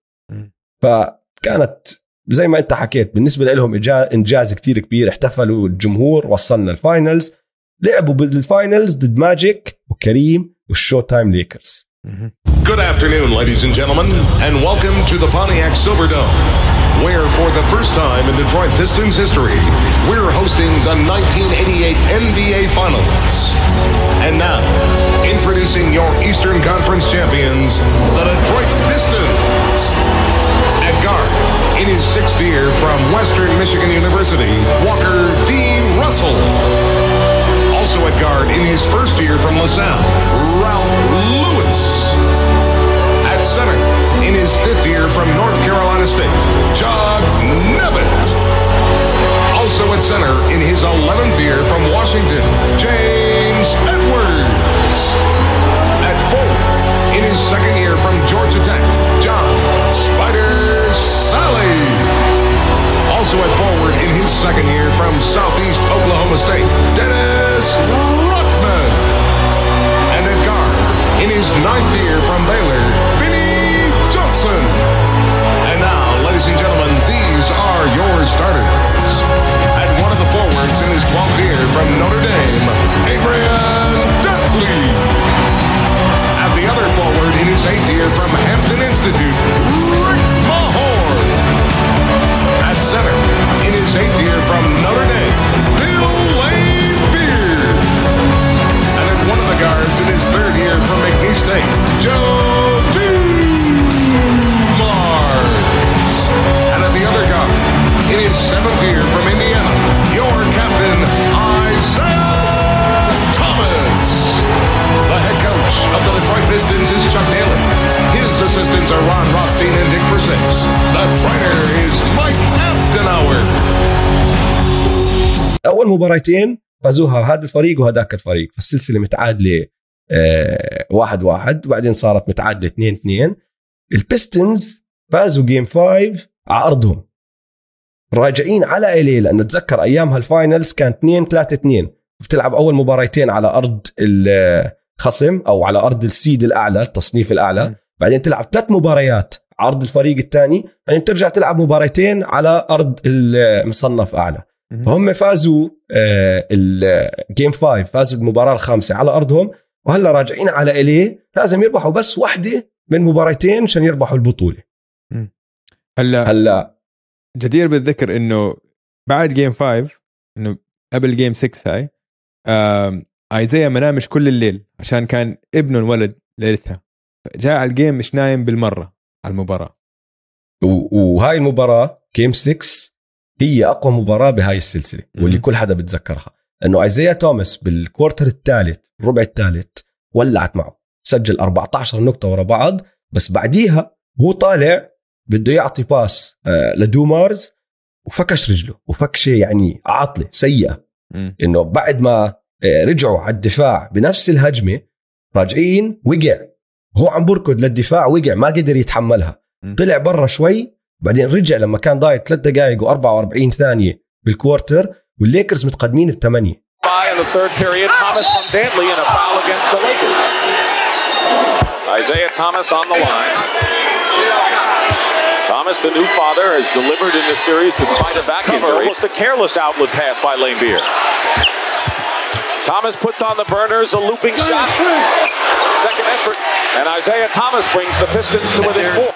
فكانت زي ما انت حكيت بالنسبه لهم انجاز كتير كبير. احتفلوا الجمهور، وصلنا الفاينلز، لعبوا بالفاينلز ضد ماجيك وكريم والشو تايم ليكرز. Good afternoon, ladies and gentlemen, and welcome to the Pontiac Silverdome, where for the first time in Detroit Pistons history, we're hosting the 1988 NBA Finals. And now, introducing your Eastern Conference champions, the Detroit Pistons. At guard, in his 6th year from Western Michigan University, Walker D. Russell. Also at guard in his 1st year from LaSalle, Ralph Lewis. At center in his 5th year from North Carolina State, John Nevitt. Also at center in his 11th year from Washington, James Edwards. At forward in his 2nd year from Georgia Tech, John Spider Sally. Also at forward in his 2nd year from Southeast Oklahoma State, Dennis Rodman. And at guard in his 9th year from Baylor, Vinny Johnson. And now, ladies and gentlemen, these are your starters. At one of the forwards in his 12th year from Notre Dame, Adrian Dudley. At the other forward in his 8th year from Hampton Institute, Rick Mahorn. At center in his 8th year from Notre Dame, Bill Laimbeer. And at one of the guards in his 3rd year from McNeese State, Joe Dumars. And at the other guard in his 7th year from Indiana, your captain, Isaiah Thomas. The head coach of the Detroit Pistons is Chuck Daly. His assistants are Ron Rothstein and Dick Versace. The trainer is Mike Abdenauer. أول مباراتين فازوها هذا الفريق وهذاك الفريق، فالسلسلة متعادلة 1-1 وبعدين صارت متعادلة 2-2. البيستنز فازوا جيم 5 على أرضهم، راجعين على إليه لأنه تذكر أيامها الفاينلز كان 2-3-2، بتلعب أول مباراتين على أرض الخصم أو على أرض السيد الأعلى التصنيف الأعلى، بعدين تلعب 3 مباريات على أرض الفريق الثاني، بعدين ترجع تلعب مباراتين على أرض المصنف أعلى. فهم فازوا الجيم 5، فازوا المباراة الخامسة على أرضهم، وهلا راجعين على إليه لازم يربحوا بس واحدة من مباراتين عشان يربحوا البطولة. هلا جدير بالذكر إنه بعد جيم 5 انه قبل جيم 6 هاي ايزايا ما نامش كل الليل عشان كان ابنه انولد ليلتها، جاء على الجيم مش نايم بالمره على المباراه. وهاي المباراه جيم 6 هي اقوى مباراه بهاي السلسله واللي كل حدا بتذكرها، انه ايزايا توماس بالكوارتر الثالث الربع الثالث ولعت معه، سجل 14 نقطه ورا بعض، بس بعديها هو طالع بده يعطي باس لدومارز وفكش رجله وفكشه يعني عاطله سيئه. انه بعد ما رجعوا على الدفاع بنفس الهجمه راجعين وقع، هو عم بركض للدفاع وقع ما قدر يتحملها، طلع برا شوي بعدين رجع لما كان ضايع 3 دقائق و44 ثانيه بالكوارتر والليكرز متقدمين ب8. In the third period, Thomas from Dantley and a foul against the Lakers. Isaiah Thomas on the line. Thomas, the new father, has delivered in this series despite a back injury. Almost a careless outlet pass by Laimbeer. Thomas puts on the burners, a looping shot. Second effort, and Isaiah Thomas brings the Pistons to within 4.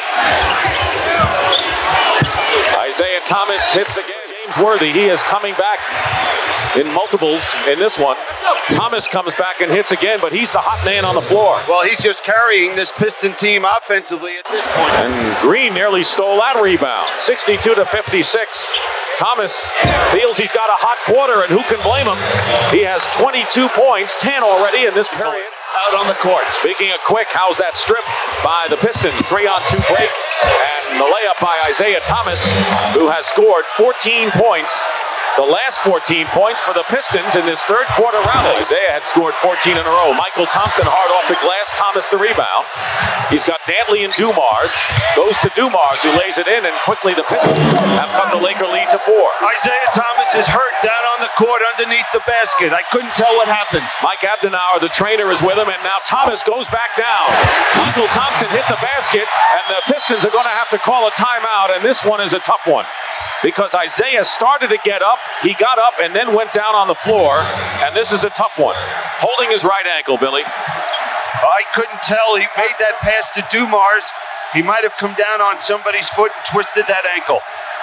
Isaiah Thomas hits again. James Worthy, he is coming back in multiples in this one. Thomas comes back and hits again, but he's the hot man on the floor. Well, he's just carrying this Piston team offensively at this point. And Green nearly stole that rebound. 62-56. Thomas feels he's got a hot quarter, and who can blame him? He has 22 points, 10 already in this period. Out on the court. Speaking of quick, how's that strip by the Pistons? 3-on-2 break, and the layup by Isaiah Thomas, who has scored 14 points. The last 14 points for the Pistons in this third quarter rally. Isaiah had scored 14 in a row. Michael Thompson hard off the glass. Thomas the rebound. He's got Dantley and Dumars. Goes to Dumars, who lays it in, and quickly the Pistons have cut the Laker lead to 4. Isaiah Thomas is hurt down on the court underneath the basket. I couldn't tell what happened. Mike Abdenauer, the trainer, is with him, and now Thomas goes back down. Michael Thompson hit the basket, and the Pistons are going to have to call a timeout, and this one is a tough one. Because Isaiah started to get up, he got up and then went down on the floor, and this is a tough one. Holding his right ankle, Billy. I couldn't tell. He made that pass to Dumars. He might have come down on somebody's foot and twisted that ankle.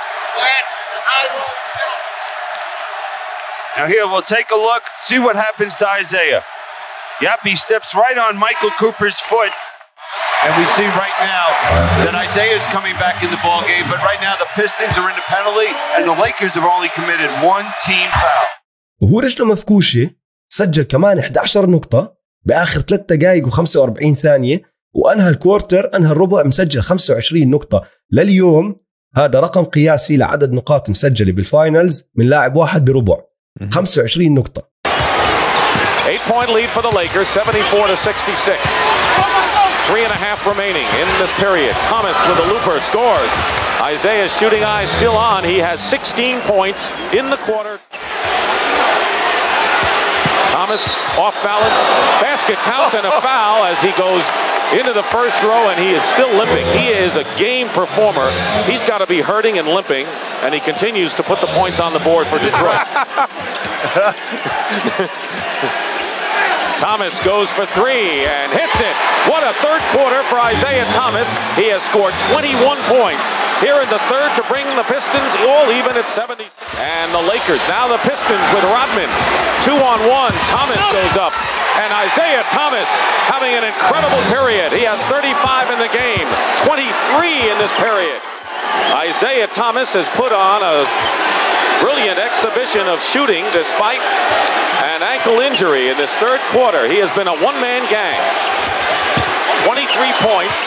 Now here, we'll take a look, see what happens to Isaiah. Yep, he steps right on Michael Cooper's foot. And we see right now that Isaiah is coming back in the ball game, but right now the Pistons are in the penalty and the Lakers have only committed 1 team foul. وهو رجله مفكوشة سجل كمان 11 نقطة بآخر 3 دقائق و45 ثانية وأنهى الكوارتر، أنهى الربع مسجل 25 نقطة. لليوم هذا رقم قياسي لعدد نقاط مسجلة بالفاينلز من لاعب واحد بربع، 25 نقطة. 8-point lead for the Lakers, 74-66. 3.5 remaining in this period. Thomas with a looper scores. Isaiah's shooting eye still on. He has 16 points in the quarter. Thomas off balance. Basket counts and a foul as he goes into the first row, and he is still limping. He is a game performer. He's got to be hurting and limping, and he continues to put the points on the board for Detroit. Thomas goes for 3 and hits it. What a third quarter for Isaiah Thomas. He has scored 21 points here in the third to bring the Pistons all even at 70. And the Lakers, now the Pistons with Rodman. 2-on-1. Thomas goes up. And Isaiah Thomas having an incredible period. He has 35 in the game, 23 in this period. Isaiah Thomas has put on a brilliant exhibition of shooting despite an ankle injury in this third quarter. He has been a one-man gang. 23 points.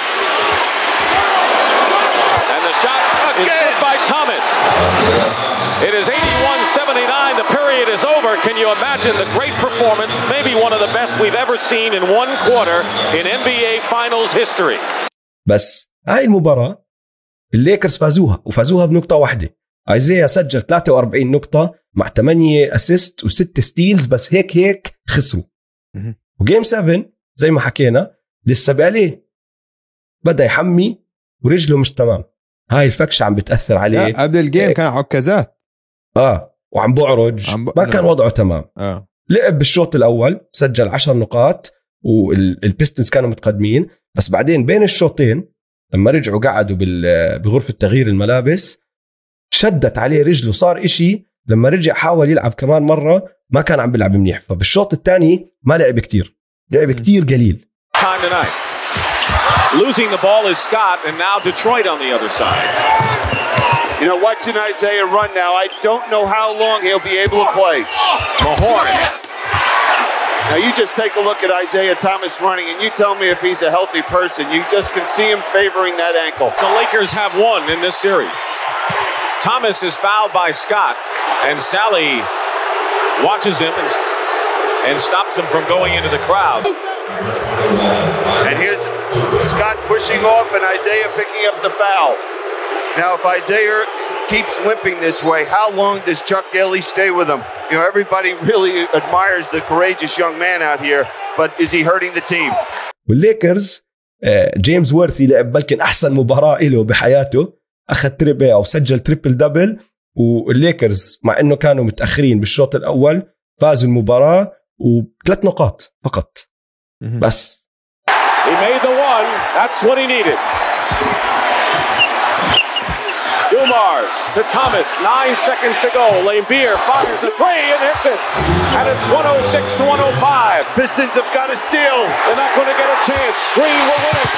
And the shot is good by Thomas. It is 81-79. The period is over. Can you imagine the great performance, maybe one of the best we've ever seen in one quarter in NBA Finals history. بس هاي المباراة الليكرز فازوها وفازوها بنقطة واحدة. ايزايا سجل 43 نقطة مع 8 اسيست و6 ستيلز، بس هيك خسروا. وجيم 7 زي ما حكينا لسه بقاليه بدأ يحمي ورجله مش تمام، هاي الفكشة عم بتأثر عليه. قبل الجيم كان عكازات وعم بعرج ما كان وضعه تمام. لعب بالشوط الأول سجل 10 نقاط والبيستنز كانوا متقدمين، بس بعدين بين الشوطين لما رجعوا قعدوا بغرفة تغيير الملابس شدت عليه رجله، صار إشي لما رجع حاول يلعب كمان مرة ما كان عم بيلعب منيح. فبالشوط الثاني ما لعب كتير، لعب كتير قليل. Time tonight. Losing the ball is Scott, and now Detroit on the other side. You know, watching Isaiah run now, I don't know how long he'll be able to play. Mahorn. Now you just take a look at Isaiah Thomas running, and you tell me if he's a healthy person. You just can see him favoring that ankle. The Lakers have won in this series. Thomas is fouled by Scott, and Sally watches him and stops him from going into the crowd. And here's Scott pushing off and Isaiah picking up the foul. Now, if Isaiah keeps limping this way, how long does Chuck Daly stay with him? You know, everybody really admires the courageous young man out here, but is he hurting the team? والليكرز جيمس وورثي لعب بلكن أحسن مباراة له بحياته، أخذ تريبل أو سجل تريبل دبل. والليكرز مع إنه كانوا متأخرين بالشوط الأول فازوا المباراة و3 نقاط فقط بس. He made the one. That's what he needed. Dumars to Thomas. 9 seconds to go. Laimbeer fires a 3 and hits it. And it's 106 to 105. Pistons have got to steal. They're not going to get a chance. Green will win it.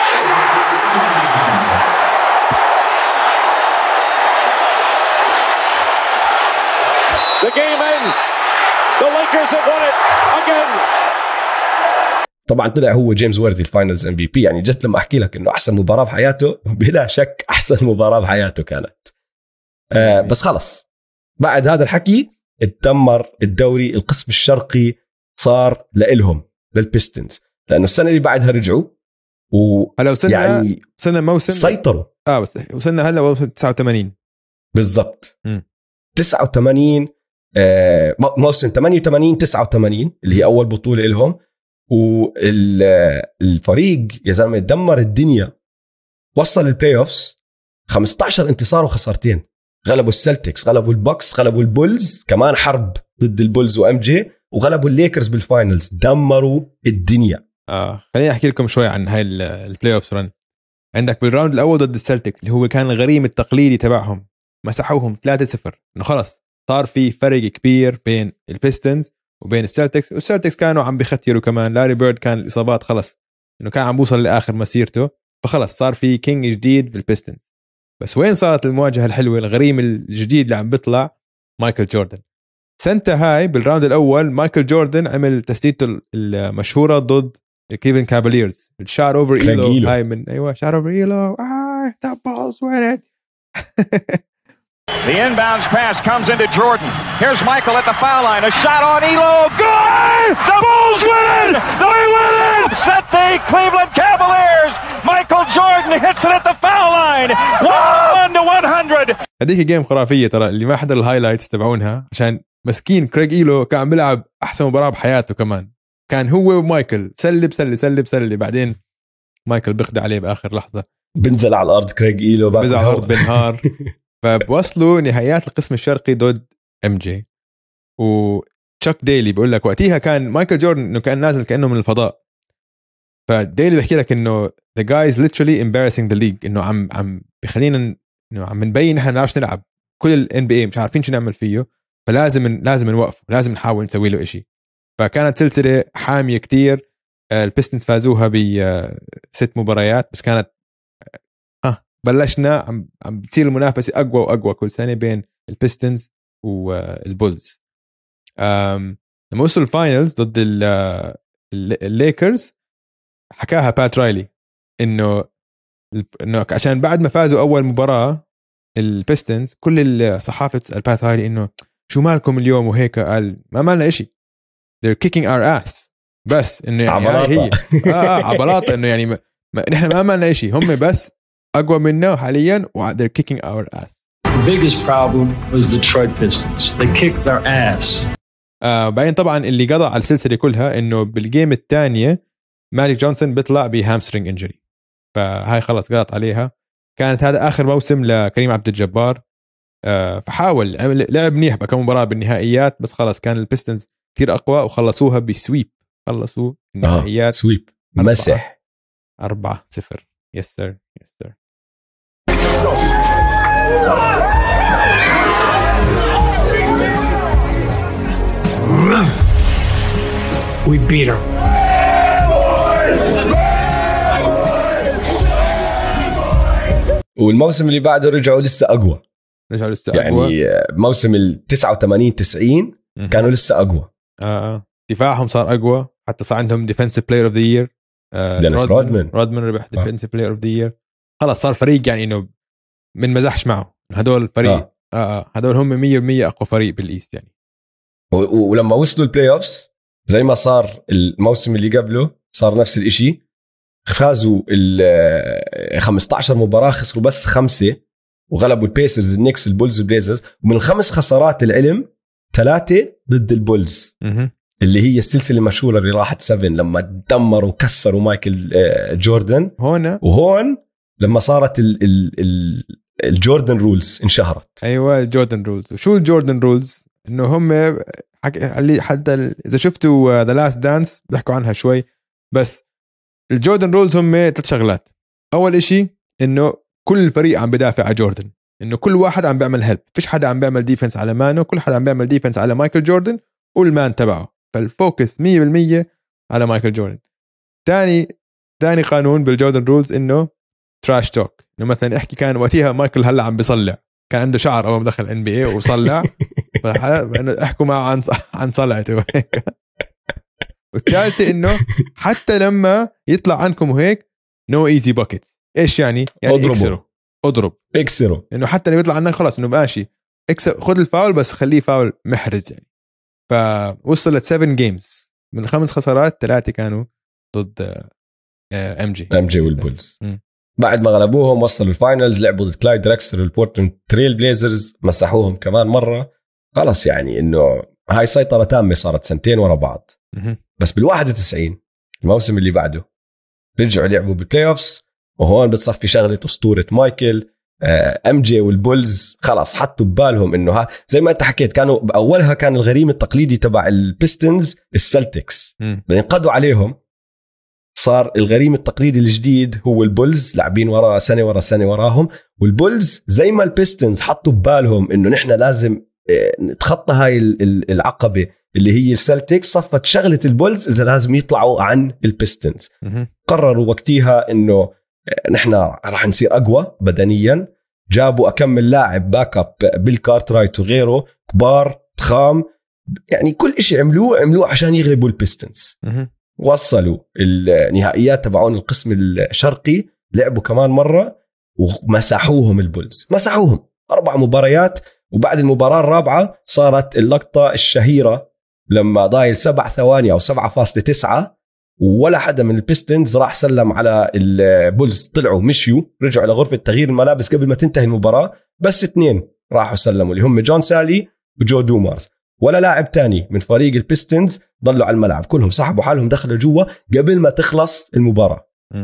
The game ends. The Lakers have won it again. طبعا طلع هو جيمس وورثي الفاينلز MVP. يعني جت لما احكي لك انه احسن مباراه بحياته، بلا شك احسن مباراه بحياته كانت. بس خلص بعد هذا الحكي اتدمر الدوري. القسم الشرقي صار لإلهم للبيستنز، لانه السنه اللي بعدها رجعوا هلا وصلنا يعني وصلنا موسم سيطروا. بس وصلنا هلا موسم 89 بالضبط. 89 موسم 88 89 اللي هي اول بطوله لهم. والفريق يا زلمه دمر الدنيا، وصل البلاي اوفز 15 انتصار وخسارتين. غلبوا السلتكس، غلبوا البوكس، غلبوا البولز، كمان حرب ضد البولز وام جي، وغلبوا الليكرز بالفاينلز. دمروا الدنيا. خليني احكي لكم شوي عن هاي البلاي اوفز رن. عندك بالراوند الاول ضد السلتكس اللي هو كان الغريم التقليدي تبعهم، مسحوهم 3-0. انه خلص صار في فرق كبير بين البيستنز وبين السلتكس. والسلتكس كانوا عم بيختيروا كمان. لاري بيرد كان الإصابات خلص إنه كان عم بوصل لآخر مسيرته، فخلص صار في كينج جديد في البيستنز. بس وين صارت المواجهة الحلوة؟ الغريم الجديد اللي عم بيطلع مايكل جوردن. سنتها هاي بالراوند الأول مايكل جوردن عمل تسديدته المشهورة ضد كليفلاند كافاليرز، الشات اوفر ايلو. هاي من ايوه شات اوفر ايلو. that ball's win it. The inbounds pass comes into Jordan. Here's Michael at the foul line. A shot on Elo. Good! The Bulls win it! They win it! Set the Cleveland Cavaliers. Michael Jordan hits it at the foul line. 101-100. هذيك جيم خرافية ترى. اللي ما حضر الهايلايتس تبعونها عشان مسكين كريغ إيلو كان عم بيلعب أحسن مباراة بحياته كمان. كان هو ومايكل سلب. بعدين مايكل بيخدع عليه بآخر لحظة. بنزل على الأرض كريغ إيلو. بنزل على الأرض بنهار. فبوصلوا نهايات القسم الشرقي ضد ام جي. وتشاك ديلي بيقول لك وقتها كان مايكل جوردن انه كان نازل كانه من الفضاء. فديلي بيحكي لك انه the guy is literally embarrassing the league. انه عم بخلينا انه عم نبين احنا نعرفش نلعب. كل الان بي اي مش عارفين شو نعمل فيه، فلازم نوقفه، لازم نحاول نسوي له إشي. فكانت سلسله حاميه كتير. البيستنز فازوها ب6 مباريات بس. كانت بلشنا عم بتصير المنافسة أقوى وأقوى كل سنة بين البيستنز والبولز. لما وصلوا الفاينلز ضد الليكرز حكاها بات رايلي إنه عشان بعد ما فازوا أول مباراة البيستنز كل الصحافة تسأل بات رايلي إنه شو مالكم اليوم وهيك. قال ما مالنا إشي. they're kicking our ass. بس إنه يعني هي عبلاطة. إنه يعني نحن ما عملنا إشي، هم بس أقوى منا حاليا و they're kicking our ass. The biggest problem was Detroit Pistons. They kicked their ass. بعدين طبعا اللي قضى على السلسلة كلها إنه بالجيم الثانية مالك جونسون بيطلع بهامسترينج إنجري، فهاي خلص قضت عليها. كانت هذا آخر موسم لكريم عبد الجبار. فحاول لعب منيح بكم مباراة بالنهائيات بس خلص كان البيستنز كتير أقوى وخلصوها بسويب. خلصوا النهائيات سويب مسح 4-0. Yes sir. beat them. والموسم اللي بعده رجعوا لسه أقوى. يعني موسم 89-90 كانوا لسه أقوى. دفاعهم صار أقوى، حتى صار عندهم ديفنسيف بلاير اوف ذا يير. دينيس رودمان ربح ديفنسيف بلاير اوف ذا يير. خلاص صار فريق يعني انه من مزحش معه. هدول الفريق هدول هم 100% اقوى فريق بالايست يعني. ولما وصلوا البلاي اوفز زي ما صار الموسم اللي قبله صار نفس الاشي. فازوا 15 مباراة، خسروا بس 5 وغلبوا البيسرز، النيكس، البولز، والبليزرز. ومن الخمس خسارات العلم 3 ضد البولز اللي هي السلسلة المشهورة اللي راحت 7 لما دمروا وكسروا مايكل جوردن. وهون لما صارت الجوردن رولز انشهرت. ايوه الجوردن رولز. وشو الجوردن رولز؟ انه هم اللي حتى اذا شفتوا ذا لاست دانس بيحكوا عنها شوي. بس الجوردن رولز هم 3 شغلات. اول اشي انه كل الفريق عم بدافع على جوردن، انه كل واحد عم بيعمل هيلب، فيش حدا عم بيعمل ديفنس على مانو، كل حدا عم بيعمل ديفنس على مايكل جوردن والمان تبعه. فالفوكس 100% على مايكل جوردن. تاني قانون بالجوردن رولز انه تراش توك. انه مثلا احكي كان وقتها مايكل هلا عم بيصلع، كان عنده شعر اول ما دخل NBA وصلع، احكوا معه عن صلعته. والثالثه انه حتى لما يطلع عنكم وهيك نو ايزي باكيت. ايش يعني اكسروا انه حتى لو يطلع عنك خلاص انه ماشي خذ الفاول بس خليه فاول محرز يعني. فوصلت 7 جيمز من 5 خسارات 3 كانوا ضد ام جي والبولز. بعد ما غلبوهم وصلوا الفاينلز، لعبوا ضد كلايد دريكسلر والبورتلاند تريل بليزرز، مسحوهم كمان مرة. خلص يعني انه هاي سيطرة تامة صارت 2 ورا بعض. بس بال91 الموسم اللي بعده رجعوا لعبوا بالبلاي اوفز، وهون بتصفي شغلة أسطورة مايكل. ام جي والبولز خلاص حطوا ببالهم انه زي ما انت حكيت كانوا باولها كان الغريم التقليدي تبع البيستنز السلتكس، بعدين قضوا عليهم. صار الغريم التقليدي الجديد هو البولز، لاعبين ورا سنة ورا سنة وراهم. والبولز زي ما البيستنز حطوا ببالهم انه نحن لازم نتخطى هاي العقبة اللي هي السلتكس، صفت شغلة البولز إذا لازم يطلعوا عن البيستنز. قرروا وقتها إنه نحن راح نصير أقوى بدنيا. جابوا أكمل لاعب باك اب بيل كارترايت وغيره كبار ضخام، يعني كل إشي عملوه عشان يغلبوا البيستنز. وصلوا النهائيات تبعون القسم الشرقي، لعبوا كمان مرة ومسحوهم البولز، مسحوهم 4 مباريات. وبعد المباراة الرابعة صارت اللقطة الشهيرة لما ضايل 7 ثواني أو 7.9 ولا حدا من البيستنز راح سلم على البولز. طلعوا مشيوا رجعوا لغرفة تغيير الملابس قبل ما تنتهي المباراة، بس 2 راحوا سلموا اللي هم جون سالي وجو دومارز. ولا لاعب تاني من فريق البيستنز ضلوا على الملعب، كلهم سحبوا حالهم دخلوا جوا قبل ما تخلص المباراة.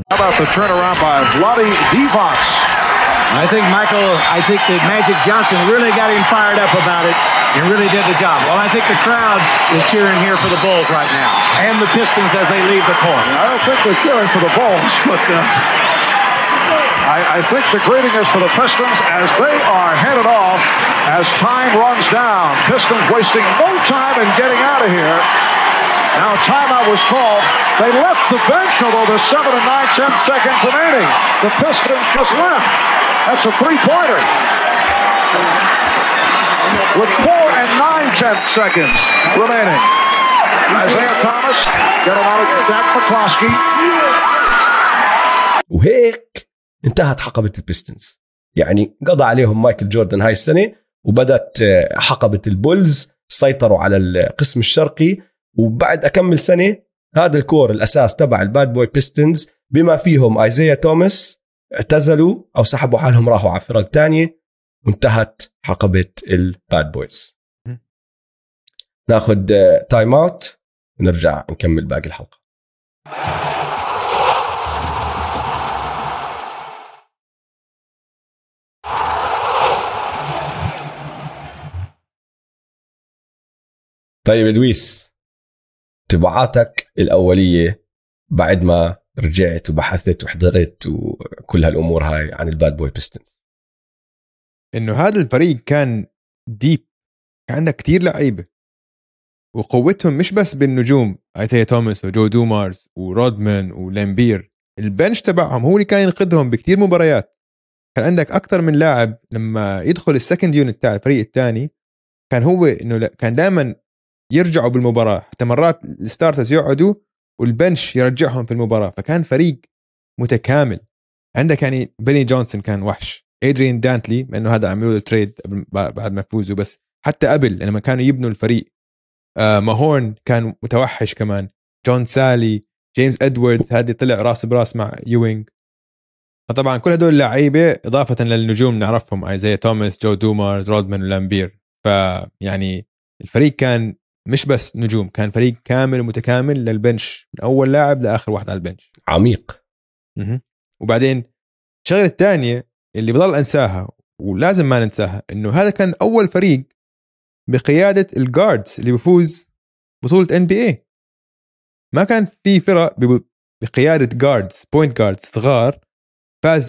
I think that Magic Johnson really got him fired up about it and really did the job. Well, I think the crowd is cheering here for the Bulls right now and the Pistons as they leave the court. I don't think they're cheering for the Bulls, but I think the greeting is for the Pistons as they are headed off as time runs down. Pistons wasting no time in getting out of here. Now timeout was called. They left the bench, although there's 7 and 9 seconds remaining. The Pistons just left. That's a 3-pointer. With 4 and 9 seconds remaining. Isaiah Thomas got him out of Jack McCloskey. وهيك انتهت حقبة البيستنز. يعني قضى عليهم مايكل جوردن هاي السنة، وبدأت حقبة البولز سيطروا على القسم الشرقي. وبعد أكمل سنة هذا الكور الأساس تبع الباد بوي بيستنز بما فيهم ايزايا توماس اعتزلوا أو سحبوا حالهم راحوا على فرق تانية، وانتهت حقبة الباد بويز. ناخد تايم اوت ونرجع نكمل باقي الحلقة. طيب ادويس، تبعاتك الأولية بعد ما رجعت وبحثت وحضرت وكل هالأمور هاي عن الباد بوي بيستنز؟ إنه هذا الفريق كان ديب، كان عنده كتير لعيبة، وقوتهم مش بس بالنجوم ايزايا توماس وجو دومارز ورودمان ولامبير. البنش تبعهم هو اللي كان ينقذهم بكتير مباريات. كان عندك أكتر من لاعب لما يدخل السكند يونت تاع الفريق الثاني كان هو إنه كان دائما يرجعوا بالمباراة، حتى مرات الستارترز يقعدوا والبنش يرجعهم في المباراة. فكان فريق متكامل. عندك يعني بيني جونسون كان وحش، إدريان دانتلي لأنه هذا عملوا له تريد بعد ما فوزوا، بس حتى قبل لما كانوا يبنوا الفريق ماهورن كان متوحش كمان، جون سالي، جيمس إدواردز هذه طلع راس براس مع يوينغ. فطبعا كل هدول اللعيبة إضافة للنجوم نعرفهم ايزايا توماس، جو دومارز، رودمان ولامبير. فيعني الفريق كان مش بس نجوم، كان فريق كامل ومتكامل للبنش من أول لاعب لآخر واحد على البنش، عميق. وبعدين الشغلة الثانية اللي بضل أنساها ولازم ما ننساها إنه هذا كان أول فريق بقيادة الجاردز اللي بيفوز بطولة NBA. ما كان في فرق بقيادة جاردز بوينت جاردز صغار فاز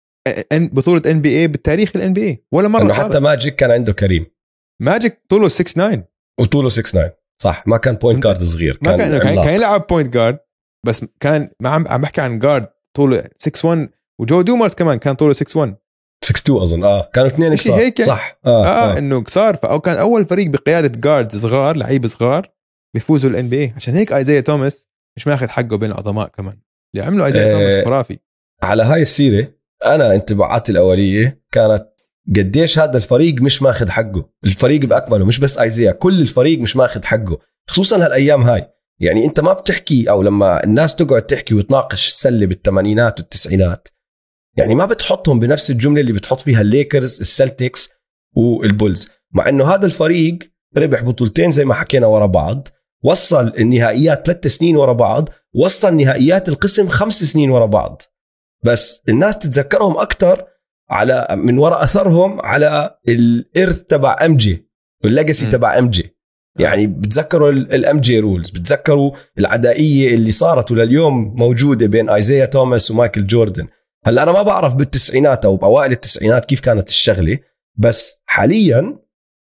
بطولة NBA بالتاريخ NBA ولا مرة. حتى ماجيك كان عنده كريم، ماجيك طوله 6'9 وطوله 6'9 صح، ما كان بوينت جارد صغير، ما كان يلعب بوينت جارد، بس كان ما عم بحكي عن جارد طوله 6'1. وجو دومارز كمان كان طوله 6'1 6'2 أظن. كانوا اثنين قصار هيك صح. إنه قصار. فأو كان أول فريق بقيادة جارد صغار، لعيب صغار بيفوزوا الNBA. عشان هيك ايزايا توماس مش ماخذ حقه بين العظماء كمان اللي عملوا ايزايا توماس خرافي. على هاي السيرة أنا انطباعاتي الأولية كانت قديش هذا الفريق مش ماخذ حقه، الفريق بأكمله مش بس ايزايا، كل الفريق مش ماخذ حقه، خصوصا هالأيام هاي. يعني أنت ما بتحكي، أو لما الناس تقعد تحكي وتناقش السلة بالثمانينات والتسعينات، يعني ما بتحطهم بنفس الجملة اللي بتحط فيها الليكرز، السلتكس والبولز، مع أنه هذا الفريق ربح بطولتين زي ما حكينا ورا بعض، وصل النهائيات 3 سنين ورا بعض، وصل نهائيات القسم 5 سنين ورا بعض. بس الناس تتذكرهم أكتر على من وراء أثرهم على الإرث تبع أمجي والليجاسي تبع أمجي. يعني بتذكروا الأمجي رولز، بتذكروا العدائية اللي صارت ولليوم موجودة بين ايزايا توماس ومايكل جوردن. هلا أنا ما بعرف بالتسعينات أو بأوائل التسعينات كيف كانت الشغلة، بس حاليا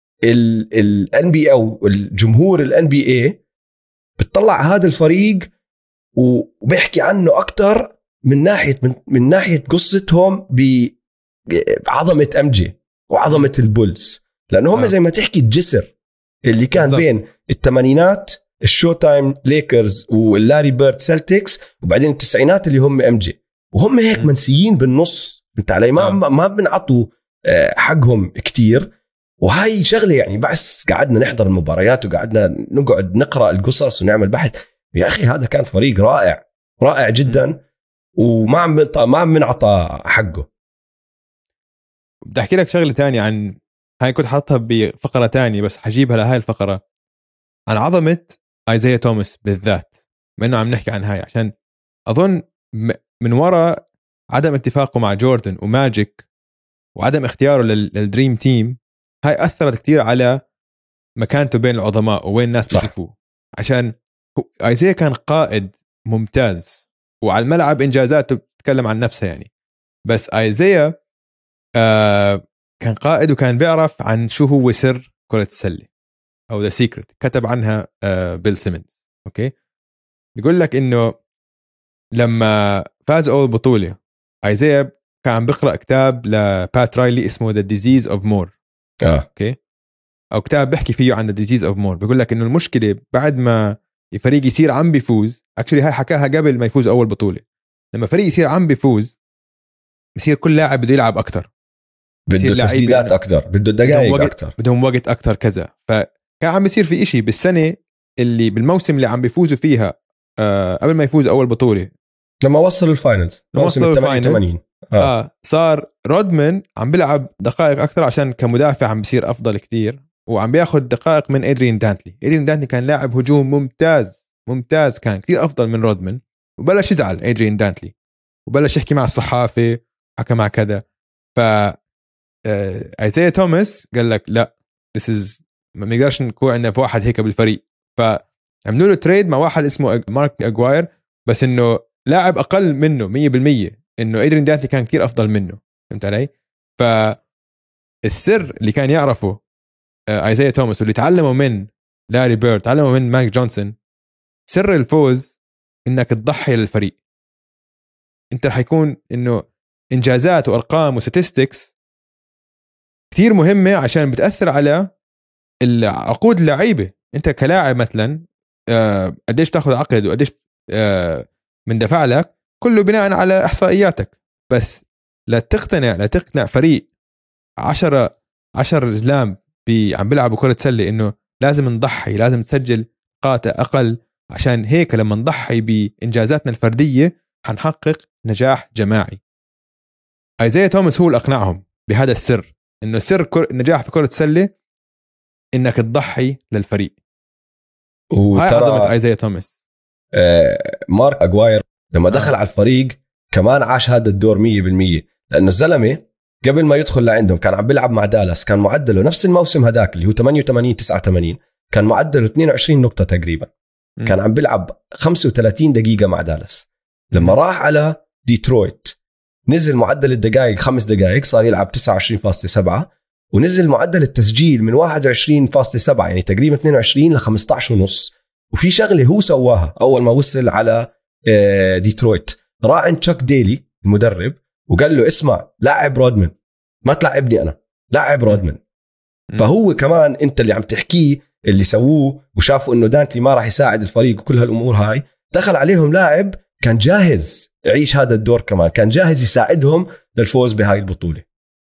ال NBA أو الجمهور ال NBA بتطلع هذا الفريق وبيحكي عنه أكتر من ناحية قصتهم بعظمة أمجي وعظمة البولز، لأنه هم زي ما تحكي الجسر اللي كان بالزبط. بين الثمانينات الشو تايم ليكرز واللاري بيرد سلتكس، وبعدين التسعينات اللي هم أمجي، وهم هيك منسيين بالنص. انت علي ما بنعطوا حقهم كتير. وهاي شغلة يعني بس قعدنا نحضر المباريات وقعدنا نقعد نقرأ القصص ونعمل بحث. يا أخي هذا كان فريق رائع رائع جدا، وما عم بنعطى حقه. بدي أحكي لك شغلة تانية عن هاي كنت حاطها بفقرة تانية بس حجيبها لهاي الفقرة، عن عظمة ايزايا توماس بالذات، ما إنه عم نحكي عن هاي، عشان أظن من وراء عدم اتفاقه مع جوردن وماجيك وعدم اختياره للدريم تيم، هاي أثرت كتير على مكانته بين العظماء ووين الناس بيشوفوه. عشان ايزايا كان قائد ممتاز وعلى الملعب إنجازاته بتتكلم عن نفسها يعني، بس ايزايا كان قائد وكان بيعرف عن شو هو سر كرة السلة أو ذا سيكريت، كتب عنها بيل سيمنز. أوكي، يقول لك إنه لما فاز أول بطولة ايزايا كان عم بقرأ كتاب لبات رايلي اسمه The Disease of More. أوكي، أو كتاب بحكي فيه عن The Disease of More. بيقول لك إنه المشكلة بعد ما الفريق يصير عم بيفوز، اكشلي هاي حكاها قبل ما يفوز أول بطولة، لما فريق يصير عم بيفوز بصير كل لاعب بده يلعب أكتر، بده تسديدات أكتر، بده دقائق أكتر، بدهم وقت أكتر كذا. فكان عم بيصير في إشي بالسنة اللي بالموسم اللي عم بيفوزوا فيها قبل ما يفوز أول بطولة، لما وصل الفاينلز موسم 88 صار رودمان عم بيلعب دقائق أكتر عشان كمدافع عم بيصير أفضل كتير، وعم بياخد دقائق من إدريان دانتلي كان لاعب هجوم ممتاز كان كتير أفضل من رودمان، وبلش يزعل إدريان دانتلي وبلش يحكي مع الصحافة، حكى مع كذا. ف ايزايا توماس قال لك لا، ما نقدرش نكون عندنا في واحد هيك بالفريق، فعملوا له تريد مع واحد اسمه مارك أجواير، بس انه لاعب اقل منه 100%، انه إدريان دانتلي كان كتير افضل منه. فهمت علي؟ فالسر اللي كان يعرفه ايزايا توماس واللي تعلمه من لاري بيرد، تعلموا من مايك جونسون سر الفوز انك تضحي للفريق. انت رح يكون انه انجازات وارقام وستاتستكس كتير مهمة عشان بتأثر على عقود اللعيبة. انت كلاعب مثلا قديش تاخذ عقد وقديش من دفع لك كله بناء على احصائياتك، بس لا تقنع فريق 10 زلام عم بيلعبوا كرة سلة انه لازم نضحي، لازم تسجل نقاط اقل، عشان هيك لما نضحي بانجازاتنا الفردية حنحقق نجاح جماعي. ايزايا توماس هو اللي اقنعهم بهذا السر، انه سر النجاح في كرة السلة انك تضحي للفريق. هاي عظمة ايزايا توماس. مارك أغواير لما دخل على الفريق كمان عاش هذا الدور 100%، لأنه الزلمة قبل ما يدخل لعندهم كان عم بيلعب مع دالاس، كان معدله نفس الموسم هداك اللي هو 88-89 كان معدله 22 نقطة تقريبا. كان عم بيلعب 35 دقيقة مع دالاس. لما راح على ديترويت نزل معدل الدقائق 5 دقائق، صار يلعب 29.7، ونزل معدل التسجيل من 21.7 يعني تقريبا 22 ل 15.5. وفي شغلة هو سواها أول ما وصل على ديترويت، راح عند تشاك ديلي المدرب وقال له اسمع لاعب رودمان، ما تلعبني أنا، لاعب رودمان. فهو كمان أنت اللي عم تحكيه اللي سووه وشافوا إنه دانتلي ما راح يساعد الفريق وكل هالأمور هاي، دخل عليهم لاعب كان جاهز يعيش هذا الدور، كمان كان جاهز يساعدهم للفوز بهاي البطولة.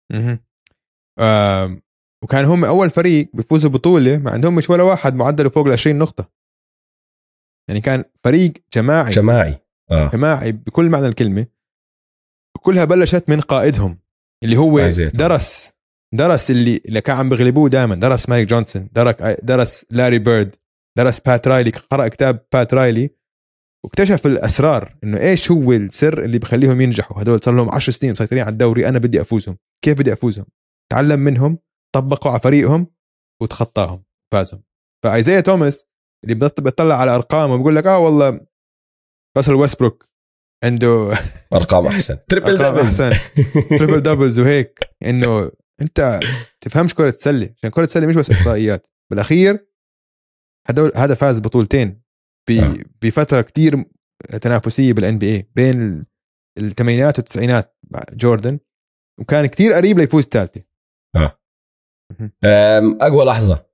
وكان هم أول فريق بيفوزوا بطولة ما عندهم مش ولا واحد معدله فوق 20 نقطة، يعني كان فريق جماعي جماعي بكل معنى الكلمة. كلها بلشت من قائدهم اللي هو درس اللي كان عم بيغلبوه دائما، درس مايك جونسون، درس لاري بيرد، درس بات رايلي، قرأ كتاب بات رايلي واكتشف الأسرار إنه إيش هو السر اللي بخليهم ينجحوا. هدول صار لهم 10 سنين مسيطرين على الدوري، أنا بدي أفوزهم، كيف بدي أفوزهم؟ تعلم منهم، طبقوا على فريقهم وتخطاهم، فازهم. فايزايا توماس اللي بيطلع على أرقام وبيقول لك والله راسل ويستبروك عنده أرقام أحسن، تريبل دبلز وهيك، إنه أنت تفهمش كرة السلة، عشان كرة السلة مش بس إحصائيات. بالأخير هذا فاز بطولتين بفترة كتير تنافسية بالان بي اي بين الثمانينات والتسعينات مع جوردن، وكان كتير قريب ليفوز الثالثة. أقوى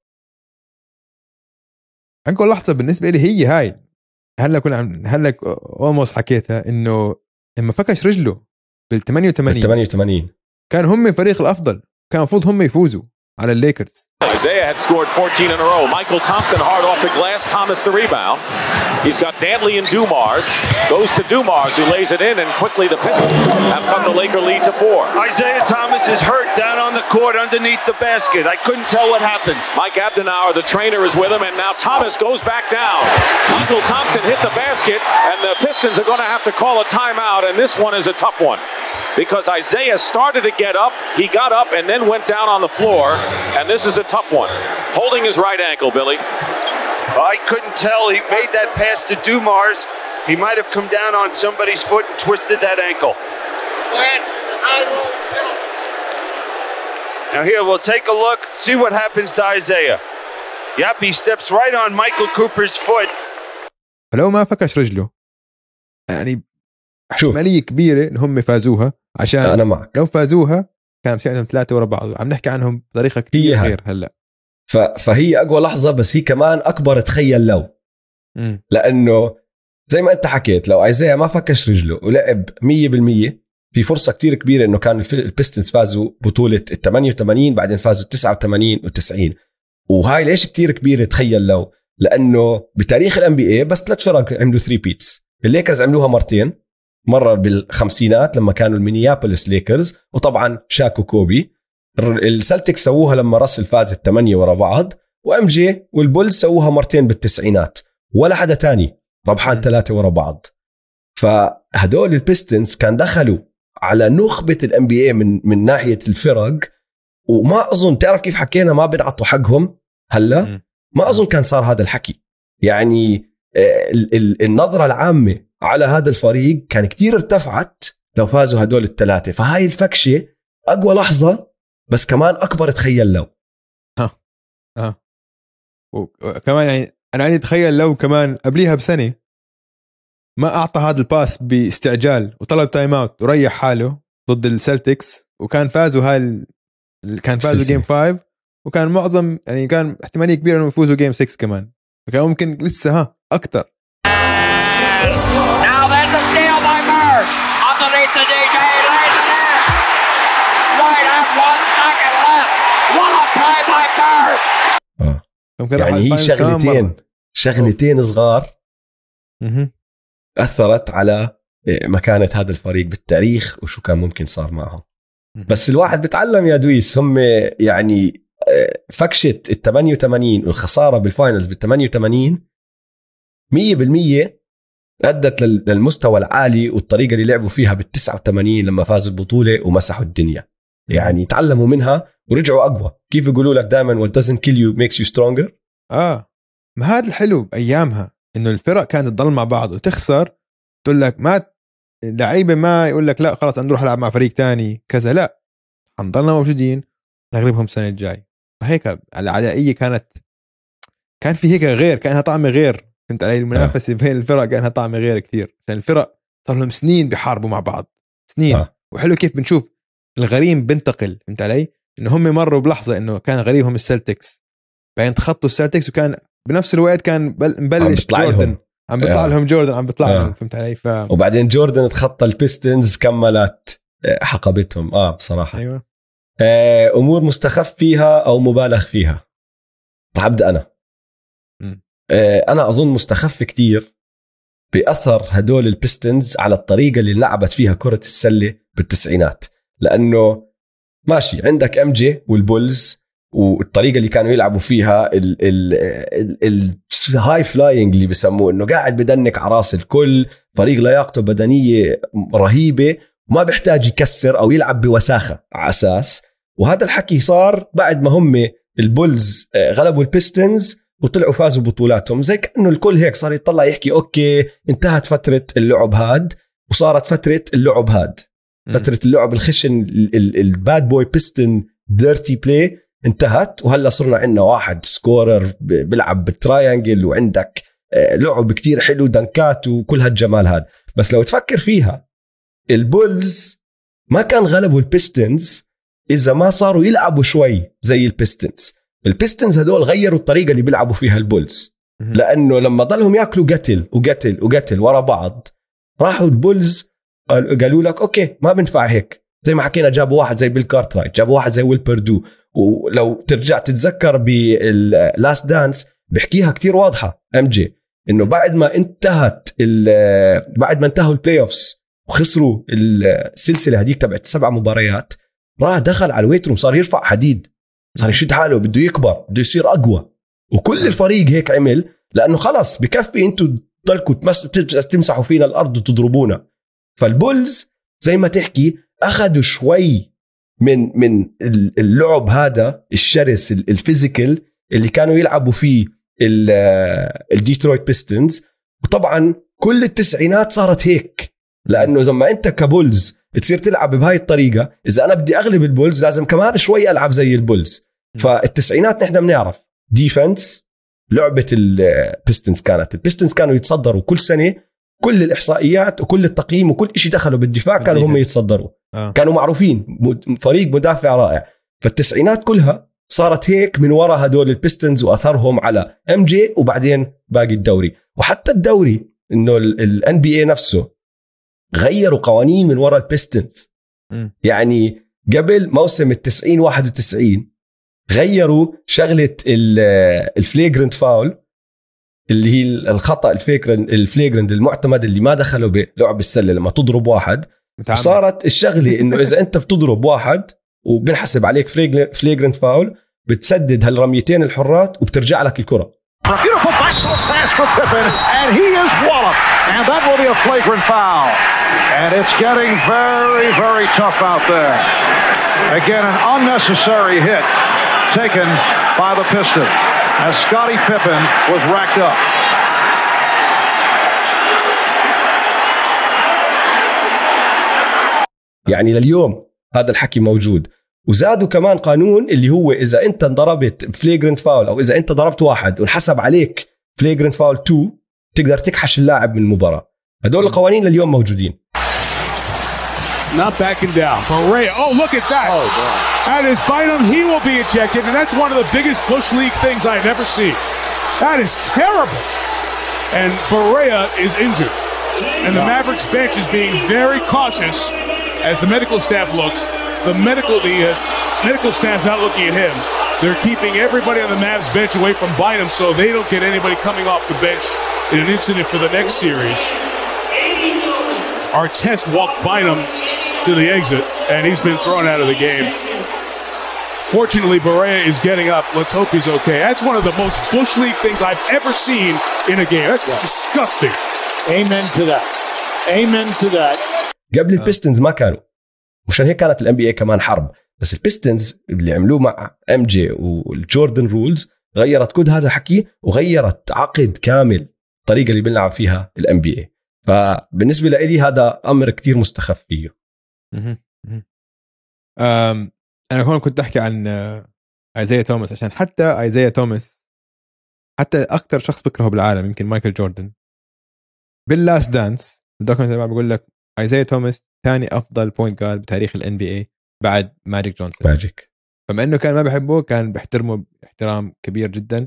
لحظة بالنسبة لي هي هاي، هلا almost حكيتها، إنه لما فكش رجله بال88 كان هم فريق الأفضل، كان المفروض هم يفوزوا على الليكرز. Isaiah had scored 14 in a row. Michael Thompson hard off the glass. Thomas the rebound. He's got Dantley and Dumars. Goes to Dumars who lays it in, and quickly the Pistons have cut the Laker lead to 4. Isaiah Thomas is hurt down on the court underneath the basket. I couldn't tell what happened. Mike Abdenauer, the trainer, is with him, and now Thomas goes back down. Michael Thompson hit the basket, and the Pistons are going to have to call a timeout, and this one is a tough one. Because Isaiah started to get up, he got up and then went down on the floor, and this is a tough one. Holding his right ankle, Billy. I couldn't tell. He made that pass to Dumars. He might have come down on somebody's foot and twisted that ankle. Now here, we'll take a look, see what happens to Isaiah. Yep, he steps right on Michael Cooper's foot. فلو ما فكش رجله يعني احتمالية كبيرة إن هم فازوها، عشان أنا معك. لو فازوها كان سيعدهم 3 ورا بعض. عم نحكي عنهم بطريقة كتير غير هلأ. فهي أقوى لحظة، بس هي كمان أكبر تخيل لو لأنه زي ما أنت حكيت لو ايزايا ما فكش رجله ولعب 100% في فرصة كتير كبيرة إنه كان البيستنز فازوا بطولة 88 بعدين فازوا 89 و90. وهاي ليش كتير كبيرة تخيل لو، لأنه بتاريخ الNBA بس 3 فرق عملوا 3 بيتس. الليكرز عملوها مرتين، مرة بالخمسينات لما كانوا المينيابوليس ليكرز وطبعا شاك وكوبي. السلتيك سووها لما راسل فاز 8 ورا بعض، وMJ والبولز سووها مرتين بالتسعينات، ولا حدا تاني ربحان 3 ورا بعض. فهدول البيستنز كان دخلوا على نخبة الNBA من ناحية الفرق، وما أظن تعرف كيف حكينا ما بنعطوا حقهم هلا، ما أظن كان صار هذا الحكي. يعني النظرة العامة على هذا الفريق كان كتير ارتفعت لو فازوا هدول الثلاثة. فهاي الفكشة أقوى لحظة، بس كمان أكبر تخيل لو وكمان يعني انا عندي اتخيل لو كمان قبليها بسنه ما اعطى هذا الباس باستعجال وطلب تايم اوت وريح حاله ضد السلتكس وكان فازوا كان فازوا جيم 5 وكان معظم يعني كان احتماليه كبيره انهم يفوزوا جيم 6 كمان فكان ممكن لسه اكثر. Now there's a steal by Bird underneath the DJ lays it in. Right at 1 second left. What a play by Bird. يعني هي شغلتين صغار أثرت على مكانة هذا الفريق بالتاريخ وشو كان ممكن صار معهم. بس الواحد بتعلم يا دويس هم يعني فكشة 88 والخسارة بالفاينلز 88 100% أدت للمستوى العالي والطريقة اللي لعبوا فيها 89 لما فازوا البطولة ومسحوا الدنيا. يعني تعلموا منها ورجعوا أقوى. كيف يقولوا لك دائما what doesn't kill you makes you stronger. ما هذا الحلو بأيامها إنه الفرق كانت تضل مع بعض وتخسر تقول لك ما لعيبة ما يقول لك لا خلاص نروح نلعب مع فريق تاني كذا لا هنضلنا موجودين نغلبهم السنة الجاي. فهيك العدائية كان في هيك غير كانها طعم غير فهمت علي. المنافسة بين الفرق كانها طعم غير كتير عشان الفرق صار لهم سنين بيحاربوا مع بعض سنين. وحلو كيف بنشوف الغريم بنتقل فهمت علي إنه هم مروا بلحظة إنه كان غريمهم السلتكس بعدين تخطوا السلتكس وكان بنفس الوقت كان مبلش جوردن عم بيطلع لهم جوردن عم بيطلع لهم فهمت علي وبعدين جوردن تخطى البيستنز كملت حقبتهم بصراحة. أيوة. أمور مستخف فيها أو مبالغ فيها رح أبدأ أنا. أنا أظن مستخف كتير بأثر هدول البيستنز على الطريقة اللي لعبت فيها كرة السلة بالتسعينات لأنه ماشي عندك MJ والبولز والطريقة اللي كانوا يلعبوا فيها الهاي فلاينج اللي بيسموه انه قاعد بدنك على راس الكل فريق لياقته بدنية رهيبة وما بيحتاج يكسر او يلعب بوساخة على اساس. وهذا الحكي صار بعد ما هم البولز غلبوا البيستنز وطلعوا فازوا بطولاتهم زي كأنه الكل هيك صار يطلع يحكي اوكي انتهت فترة اللعب هاد وصارت فترة اللعب هاد فترة اللعب الخشن الباد بوي بيستن ديرتي بلاي انتهت وهلا صرنا عندنا واحد سكورر بيلعب بالتراينجل وعندك لعب كتير حلو دنكات وكل هالجمال هذا. بس لو تفكر فيها البولز ما كان غلبوا البيستنز إذا ما صاروا يلعبوا شوي زي البيستنز. البيستنز هدول غيروا الطريقة اللي بيلعبوا فيها البولز لأنه لما ضلهم يأكلوا قتل ورا بعض راحوا البولز قالوا لك أوكي ما بنفع هيك زي ما حكينا جابوا واحد زي بيل كارترايت جابوا واحد زي ويل بيردو. ولو ترجع تتذكر باللاست دانس بحكيها كتير واضحة MJ إنه بعد ما انتهوا البلاي أوفس وخسروا السلسلة هديك تبعت 7 مباريات راح دخل على الويت روم صار يرفع حديد صار يشد حاله بده يكبر بده يصير أقوى وكل الفريق هيك عمل لأنه خلاص بكفي انتوا تضلكوا تمسحوا فينا الأرض وتضربونا. فالبولز زي ما تحكي أخذوا شوي من اللعب هذا الشرس الفيزيكال اللي كانوا يلعبوا فيه الديترويت بيستنز. وطبعا كل التسعينات صارت هيك لأنه زي ما أنت كبولز تصير تلعب بهاي الطريقة إذا أنا بدي أغلب البولز لازم كمان شوي ألعب زي البولز. فالتسعينات نحن بنعرف ديفنس لعبة البيستنز البيستنز كانوا يتصدروا كل سنة كل الإحصائيات وكل التقييم وكل إشي دخلوا بالدفاع كانوا هم يتصدروا كانوا معروفين فريق مدافع رائع. فالتسعينات كلها صارت هيك من وراء هدول البيستنز وأثرهم على MJ وبعدين باقي الدوري. وحتى الدوري إنه NBA نفسه غيروا قوانين من وراء البيستنز. يعني قبل موسم 90-91 غيروا شغلة الفليجرنت فاول اللي هي الخطأ الفليجرنت المعتمد اللي ما دخلوا بلعب السلة لما تضرب واحد. صارت الشغلة إنه إذا أنت بتضرب واحد وبنحسب عليك فليجرنت فاول بتسدد هالرميتين الحرات وبترجع لك الكرة. Beautiful backdoor pass for Pippen, and he is walloped, and that will be a flagrant foul. And it's getting very, very tough out there. Again, an unnecessary hit taken by the Pistons as Scottie Pippen was racked up. يعني لليوم هذا الحكي موجود وزادوا كمان قانون اللي هو إذا أنت ضربت فليجرنت فاول أو إذا أنت ضربت واحد وانحسب عليك فليجرنت فاول 2 تقدر تكحش اللاعب من المباراة. هدول القوانين لليوم موجودين. Not backing down. Barea. Oh, look at that. Oh, that is Bynum. He will be ejected, and that's one of the biggest Bush League things I've ever seen. That is terrible. And Barea is injured. And the Mavericks bench is being very cautious as the medical staff looks. The medical staff's not looking at him. They're keeping everybody on the Mavs bench away from Bynum so they don't get anybody coming off the bench in an incident for the next series. Artest walked Bynum to the exit, and he's been thrown out of the game. Fortunately, Barea is getting up. Let's hope he's okay. That's one of the most Bush League things I've ever seen in a game. That's disgusting. Amen to that. Amen to that. قبل البيستنز ما كانوا، مشان هيك كانت الام بي اي كمان حرب. بس البيستنز اللي عملوه مع ام جي والجوردن رولز غيرت كود هذا الحكي وغيرت عقد كامل الطريقه اللي بنلعب فيها الام بي اي. فبالنسبه لي هذا امر كتير مستخف فيه. انا هون كنت احكي عن ايزايا توماس، عشان حتى ايزايا توماس حتى اكثر شخص بكرهه بالعالم يمكن مايكل جوردن باللاست دانس الدوكيومنتري تبعه بقول لك ايزايا توماس ثاني افضل بوينت جارد بتاريخ الان بي اي بعد ماجيك جونسون. فما انه كان ما بحبه كان بيحترمه احترام كبير جدا.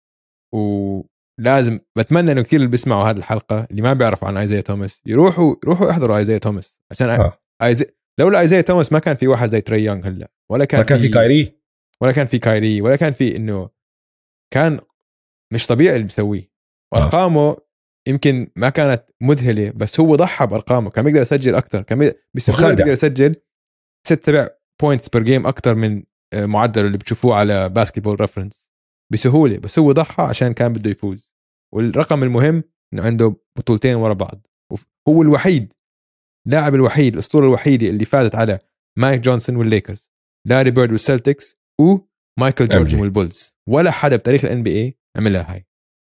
ولازم بتمنى انه كثير اللي بيسمعوا هذه الحلقه اللي ما بيعرفوا عن ايزايا توماس يروحوا يحضروا ايزايا توماس، عشان لولا ايزايا توماس ما كان في واحد زي تري يونغ هلا، ولا كان في كايري، ولا كان في انه كان مش طبيعي اللي بيسويه. وارقامه يمكن ما كانت مذهله، بس هو ضحى بارقامه، كان بيقدر يسجل اكثر، كان بيقدر يسجل 6-7 بوينتس بير جيم اكثر من معدل اللي بتشوفوه على باسكتبول ريفرنس بسهوله. بس هو ضحى عشان كان بده يفوز. والرقم المهم انه عنده بطولتين ورا بعض، هو الوحيد لاعب الوحيد الاسطوره الوحيده اللي فازت على مايك جونسون والليكرز، لاري بيرد والسلتكس، ومايكل جوردن والبولز. ولا حدا بتاريخ الان بي اي عملها هاي.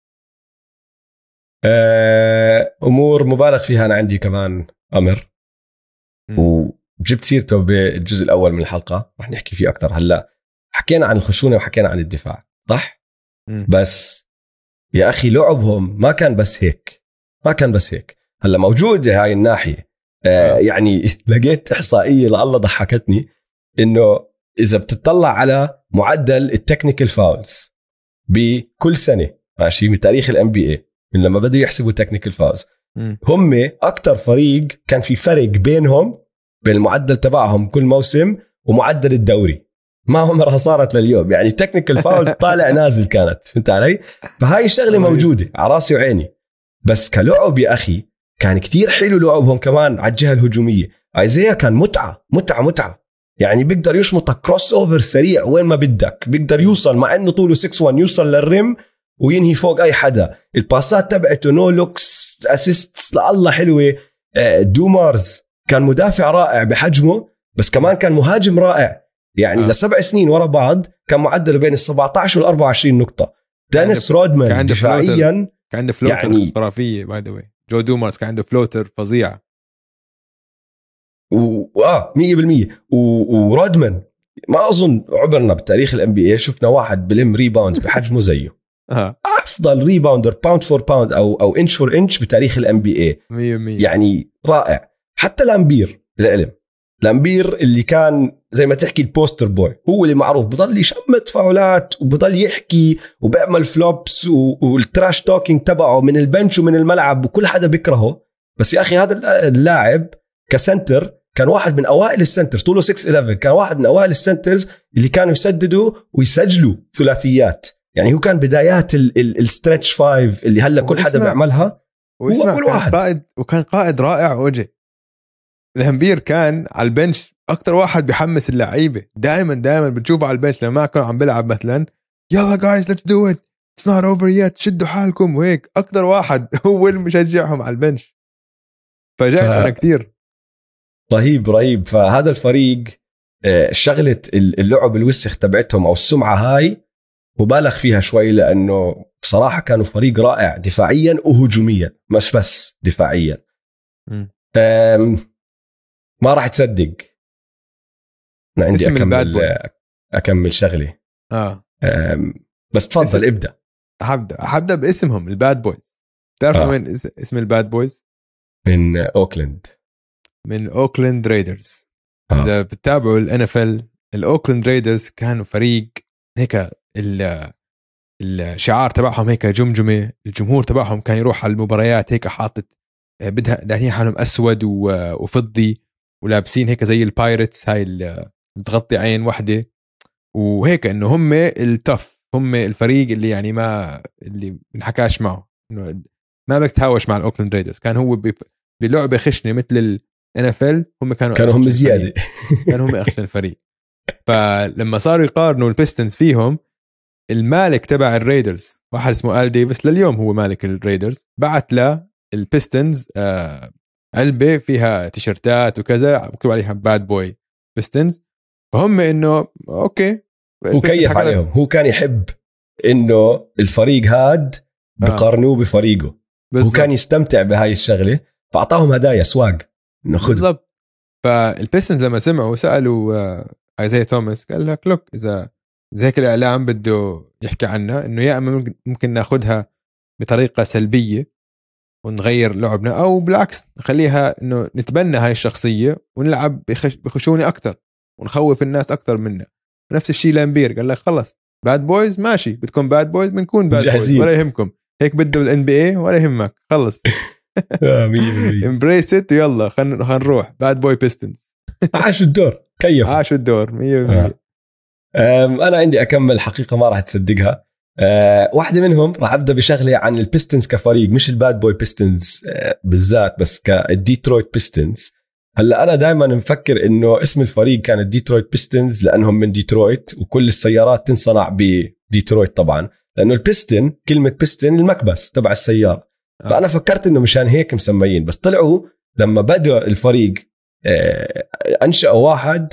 امور مبالغ فيها. انا عندي كمان امر وجبت سيرته بالجزء الاول من الحلقه، رح نحكي فيه اكثر. هلا حكينا عن الخشونه وحكينا عن الدفاع صح، بس يا اخي لعبهم ما كان بس هيك. هلا موجود هاي الناحيه. يعني لقيت احصائيه لله ضحكتني، انه اذا بتطلع على معدل التكنيكال فاولز بكل سنه ماشي من تاريخ الام بي اي من لما بدوا يحسبوا تكنيكال فاولز، هم اكتر فريق كان في فرق بينهم بين المعدل تبعهم كل موسم ومعدل الدوري. ما عمرها صارت لليوم، يعني تكنيكال فاولز طالع نازل كانت، فهمت علي؟ فهاي الشغله موجوده على راسي وعيني. بس كلعب يا اخي كان كتير حلو لعبهم كمان على الجهه الهجوميه. ايزايا كان متعه، يعني بيقدر يشمط كروس اوفر سريع وين ما بدك، بيقدر يوصل مع انه طوله 6'1 يوصل للرم وينهي فوق اي حدا. الباسات تبعته نو لوكس اسيستس لله حلوه. دومارز كان مدافع رائع بحجمه، بس كمان كان مهاجم رائع. يعني ل7 سنين ورا بعض كان معدله بين ال17 وال24 نقطه. دانيس رودمان دفاعيا كان عنده فلوتر يعني خرافيه باي ذا واي. جو دومارز كان عنده فلوتر فظيع 100%. ورودمان ما اظن عبرنا بتاريخ الام بي اي شفنا واحد بلم ريباوندز بحجمه زيه. افضل ريباوندر باوند فور باوند او انش فور انش بتاريخ الام بي اي 100%. يعني رائع. حتى لامبير العلم، لامبير اللي كان زي ما تحكي البوستر بوي، هو اللي معروف بضل يشمت فاولات وبضل يحكي وبيعمل فلوبس والتراش توكينج تبعه من البنش ومن الملعب وكل حدا بيكرهه. بس يا اخي هذا اللاعب كسنتر كان واحد من اوائل السنترز، طوله 6'11، كان واحد من اوائل السنترز اللي كانوا يسددوا ويسجلوا ثلاثيات. يعني هو كان بدايات الستريتش 5 اللي هلا كل حدا بيعملها. هو اول واحد وكان قائد رائع. وجه الهمبير كان على البنش اكتر واحد بيحمس اللعيبه. دائما بتشوفه على البنش لما كان عم بيلعب مثلا يلا جايز ليتس دو ات اتس نوت اوفر يت شدوا حالكم وهيك. اكتر واحد هو اللي مشجعهم على البنش. فجأت انا كتير رهيب. فهذا الفريق شغله اللعب الوسخ تبعتهم او السمعه هاي مبالغ فيها شوي، لانه بصراحه كانوا فريق رائع دفاعيا وهجوميا، مش بس دفاعيا. ما راح تصدق انا عندي اكمل شغله بس تفضل ابدا. هبدا باسمهم الباد بويز. تعرف وين اسم الباد بويز؟ من اوكلاند ريدرز. اذا بتتابعوا الNFL الاوكلاند ريدرز كانوا فريق هيك الشعار تبعهم هيك جمجمه. الجمهور تبعهم كان يروح على المباريات هيك حاطط بدها دهنين حالهم اسود وفضي ولابسين هيك زي البايرتس هاي اللي بتغطي عين واحده وهيك انه هم التف، هم الفريق اللي يعني ما اللي بنحكاش معه انه ما بتهاوش مع الاوكلاند ريدرز. كان هو بلعبه خشنه مثل الNFL هم كانوا هم زياده كانوا هم اخشن الفريق. فلما صاروا يقارنوا البيستنز فيهم المالك تبع الريدرز واحد اسمه آل ديفيس لليوم هو مالك الريدرز بعت له البيستنز علبة فيها تيشرتات وكذا مكتوب عليها باد بوي بيستنز. فهم انه اوكي هو كيف عليهم. هو كان يحب انه الفريق هاد بقارنوه بفريقه بالزبط. هو كان يستمتع بهاي الشغلة فأعطاهم هدايا سواق انه خذ بالضبط. فالبيستنز لما سمعوا سألوا ايزايا توماس قال لك لوك اذا زي هيك الاعلام بده يحكي عنها انه يا اما ممكن ناخدها بطريقة سلبية ونغير لعبنا او بالعكس نخليها انه نتبنى هاي الشخصية ونلعب بخشونة اكتر ونخوف الناس اكتر منا. نفس الشيء لامبير قال لك خلص باد بويز ماشي بدكم باد بويز بنكون باد بويز ولا يهمكم هيك بده الNBA ولا يهمك خلص امبريس ات يلا خلينا نروح باد بوي بيستنز. عاشوا الدور كيف عاشوا الدور 100%. انا عندي اكمل حقيقة ما راح تصدقها. واحدة منهم راح أبدأ بشغلة عن البيستنز كفريق مش الباد بوي بيستنز بالذات بس كالديترويت بيستنز. هلا أنا دائما مفكر إنه اسم الفريق كان الديترويت بيستنز لأنهم من ديترويت وكل السيارات تنصنع بديترويت طبعا لأنه البيستن كلمة بيستن المكبس تبع السيارة. فأنا فكرت إنه مشان هيك مسميين بس طلعوا لما بدأ الفريق أنشأوا واحد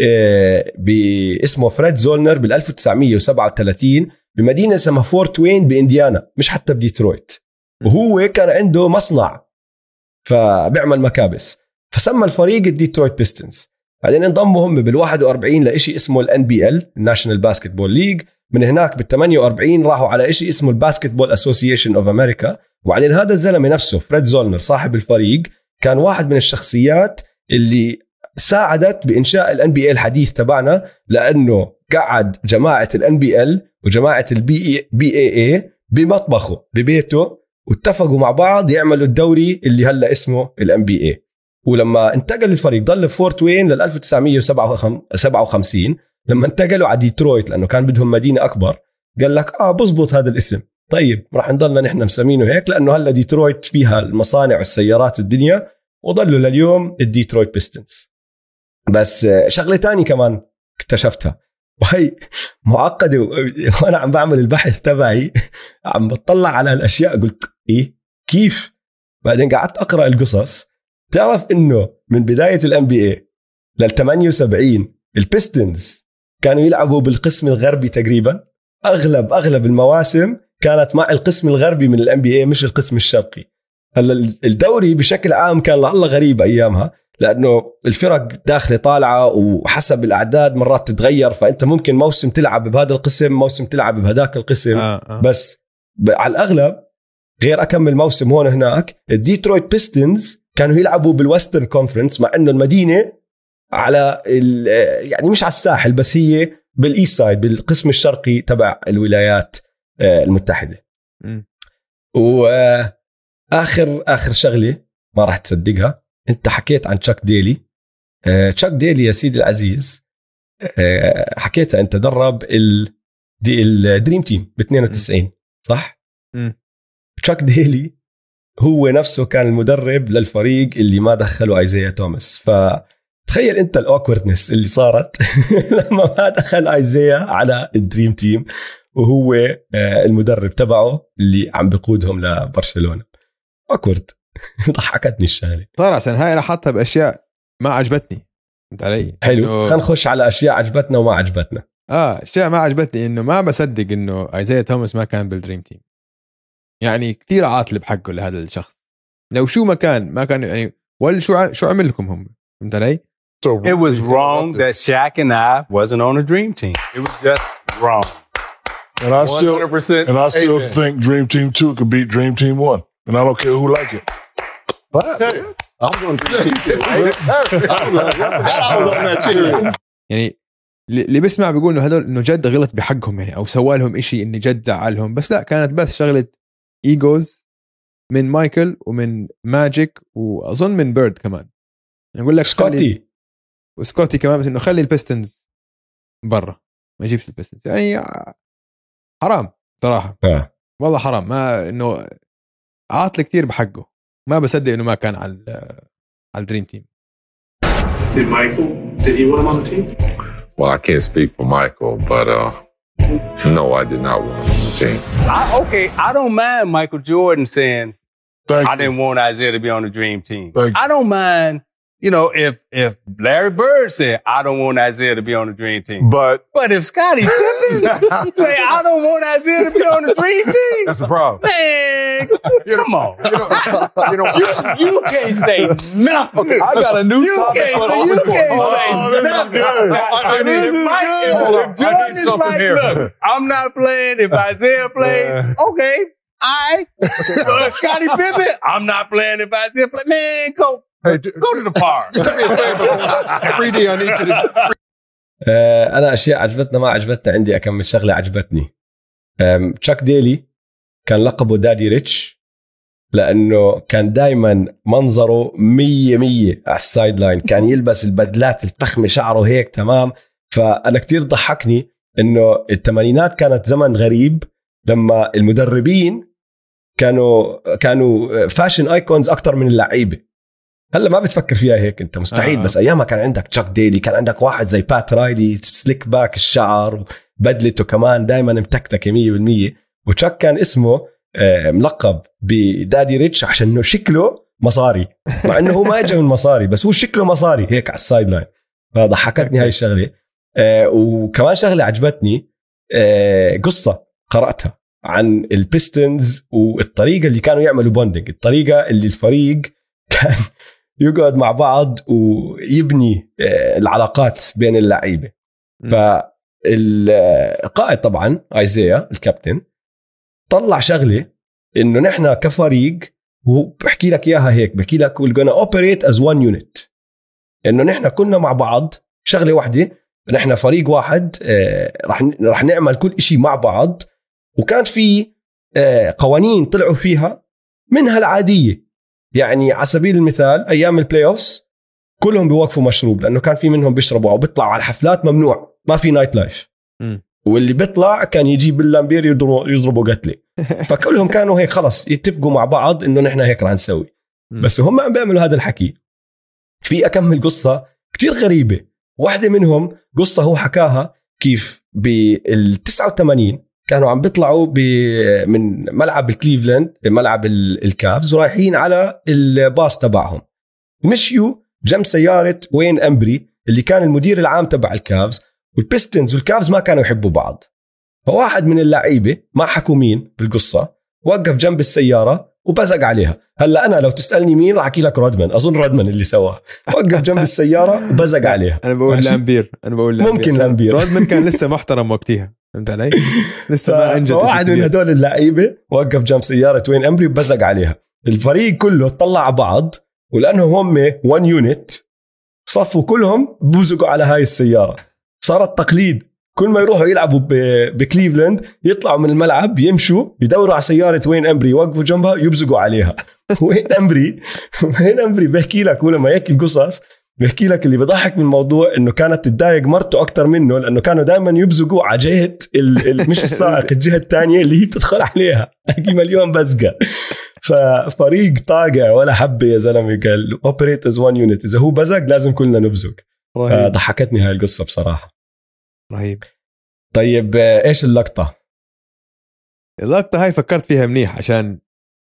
باسمه فريد زولنر بال 1937 بمدينة اسمها فورت وين بإنديانا مش حتى بديترويت. وهو كان عنده مصنع فبيعمل مكابس فسمى الفريق الديترويت بيستنز. بعدين انضموا هم بال41 لإشي اسمه الNBL الناشونال باسكتبول ليج. من هناك بال48 راحوا على إشي اسمه الباسكتبول أسوسيشن أوف أمريكا. وبعدين هذا الزلمة نفسه فريد زولنر صاحب الفريق كان واحد من الشخصيات اللي ساعدت بإنشاء الNBA الحديث تبعنا لأنه قعد جماعة الNBL وجماعة الBAA بمطبخه ببيته واتفقوا مع بعض يعملوا الدوري اللي هلأ اسمه الNBA. ولما انتقل الفريق ضل في فورت وين لل 1957 لما انتقلوا على ديترويت لأنه كان بدهم مدينة أكبر قال لك بزبط هذا الاسم طيب راح نضلنا نحن مسمينه هيك لأنه هلأ ديترويت فيها المصانع والسيارات والدنيا وضلوا لليوم الديترويت بيستنز. بس شغلة تاني كمان اكتشفتها وهي معقدة وأنا عم بعمل البحث تبعي عم بطلع على الأشياء قلت إيه كيف. بعدين قعدت أقرأ القصص تعرف إنه من بداية الNBA لل 78 البيستنز كانوا يلعبوا بالقسم الغربي تقريبا. أغلب المواسم كانت مع القسم الغربي من الNBA مش القسم الشرقي. هلا الدوري بشكل عام كان لعله غريب أيامها لأنه الفرق داخلة طالعة وحسب الأعداد مرات تتغير فأنت ممكن موسم تلعب بهذا القسم موسم تلعب بهداك القسم بس على الأغلب غير أكمل موسم هون هناك. الديترويت بيستنز كانوا يلعبوا بالويسترن كونفرنس مع أنه المدينة على يعني مش على الساحل بس هي بالإيست سايد بالقسم الشرقي تبع الولايات المتحدة. وآخر شغلة ما راح تصدقها انت حكيت عن تشاك ديلي. تشاك ديلي يا سيدي العزيز حكيت انت درب الدريم تيم ب 92 صح؟ تشاك ديلي هو نفسه كان المدرب للفريق اللي ما دخلوا ايزايا توماس. فتخيل انت الاوكوردنس اللي صارت لما ما دخل ايزايا على الدريم تيم وهو المدرب تبعه اللي عم بقودهم لبرشلونة. اوكورد ضحكتني الشغله طار عشان هاي انا حاطها باشياء ما عجبتني. فهمت علي؟ حلو خلينا نخش على اشياء عجبتنا وما عجبتنا. اشياء ما عجبتني انه ما بصدق انه ايزايا توماس ما كان بالدريم تيم. يعني كثير عاطل بحقه لهذا الشخص. لو شو ما كان يعني ولا شو عمل لكم هم. فهمت علي؟ It was wrong that Shaq and I wasn't on a dream team. It was just wrong. And I still 100% think Dream Team 2 could beat Dream Team 1. And I don't care who like it. But I'm going to Dream Team 2. I was on that team. يعني اللي بسمع بيقول انه هدول انه جد غلط بحقهم يعني او سوى لهم إشي انه جد زعلهم بس لا كانت بس شغله ايجوز من مايكل ومن ماجيك واظن من بيرد كمان نقول لك سكوتي كمان بس انه خلي البيستنز برا ما يجيبش البيستنز يعني حرام صراحه والله حرام ما انه عاطل كتير بحقه ما بصدق انه ما كان على الدريم تيم. Did he want him on the team? Well, I can't speak for Michael, but no, I did not want him on the team. I don't mind Michael Jordan saying I didn't want Isaiah to be on the dream team. I don't mind, you know, if Larry Bird said I don't want Isaiah to be on the dream team. But if Scottie Pippen say I don't want Isaiah to be on the dream team, that's a problem. Man, come on. You can't say nothing. Okay, I got a new topic for the Jordan is like, look, I'm not playing. If Isaiah plays, okay, Scottie Pippen, I'm not playing. If Isaiah plays, man, go to the park. أنا أشياء عجبتنا ما عجبتنا عندي أكمل شغلة عجبتني. تشاك ديلي كان لقبه دادي ريتش لأنه كان دايما منظره 100 على السايد لاين كان يلبس البدلات الفخمة شعره هيك تمام. فأنا كتير ضحكني إنه الثمانينات كانت زمن غريب لما المدربين كانوا فاشن ايكونز أكتر من اللعيبة. هلا ما بتفكر فيها هيك انت مستحيل بس ايامها كان عندك تشاك ديلي كان عندك واحد زي بات رايلي سليك باك الشعر وبدلته كمان دائما متكتك 100% وتشاك كان اسمه ملقب بدادي ريتش عشان انه شكله مصاري مع انه هو ما اجى من مصاري بس هو شكله مصاري هيك على السايد لاين. فضحكتني هاي الشغله. وكمان شغله عجبتني قصه قرأتها عن البيستنز والطريقه اللي كانوا يعملوا بوندينج الطريقه اللي الفريق كان يقعد مع بعض ويبني العلاقات بين اللعيبة. فالقائد طبعا ايزايا الكابتن طلع شغلة انه نحن كفريق وبحكي لك اياها هيك بحكي لك we're gonna operate as one unit انه نحن كنا مع بعض شغلة واحدة نحن فريق واحد رح نعمل كل اشي مع بعض. وكان في قوانين طلعوا فيها منها العادية يعني على سبيل المثال أيام البلاي أوفس كلهم بيوقفوا مشروب لأنه كان في منهم بيشربوا أو بيطلعوا على الحفلات ممنوع ما في نايت لايف واللي بيطلع كان يجيب باللامبير يضربوا قتله. فكلهم كانوا هيك خلص يتفقوا مع بعض إنه نحن هيك رح نسوي. بس هم عم بيعملوا هذا الحكي. في أكمل قصة كتير غريبة واحدة منهم قصة هو حكاها كيف بال89 كانوا عم بيطلعوا من ملعب الكليفلاند ملعب الكافز ورايحين على الباص تبعهم مشيوا جنب سيارة وين أمبري اللي كان المدير العام تبع الكافز والبيستنز والكافز ما كانوا يحبوا بعض. فواحد من اللعيبة ما حكوا مين بالقصة وقف جنب السيارة وبزق عليها. هلا أنا لو تسألني مين راح أحكي لك رودمان أظن رودمان اللي سواه وقف جنب السيارة وبزق عليها. أنا بقول لامبير ممكن لامبير رودمان كان لسه محترم وقتها فهمت علي لسه ما انجز. واحد من هدول اللعيبه وقف جنب سياره وين امبري وبزق عليها. الفريق كله طلع على بعض ولانهم هم 1 يونت صفوا كلهم بوزقوا على هاي السياره. صارت تقليد كل ما يروحوا يلعبوا بكليفلاند يطلعوا من الملعب يمشوا يدوروا على سياره وين امبري يوقفوا جنبها يبزقوا عليها. وين امبري بحكي لك ولما يحكي القصص بحكي لك اللي بضحك من الموضوع انه كانت تضايق مرته اكتر منه لانه كانوا دائما يبزقوا على جهه مش السائق الجهه الثانيه اللي هي بتدخل عليها هي مليون بزقه. ففريق طاقع ولا حبه يا زلمه قال اوبريت از 1 يونت اذا هو بزق لازم كلنا نبزق. ضحكتني هاي القصه بصراحه رهيب. طيب ايش اللقطه هاي فكرت فيها منيح عشان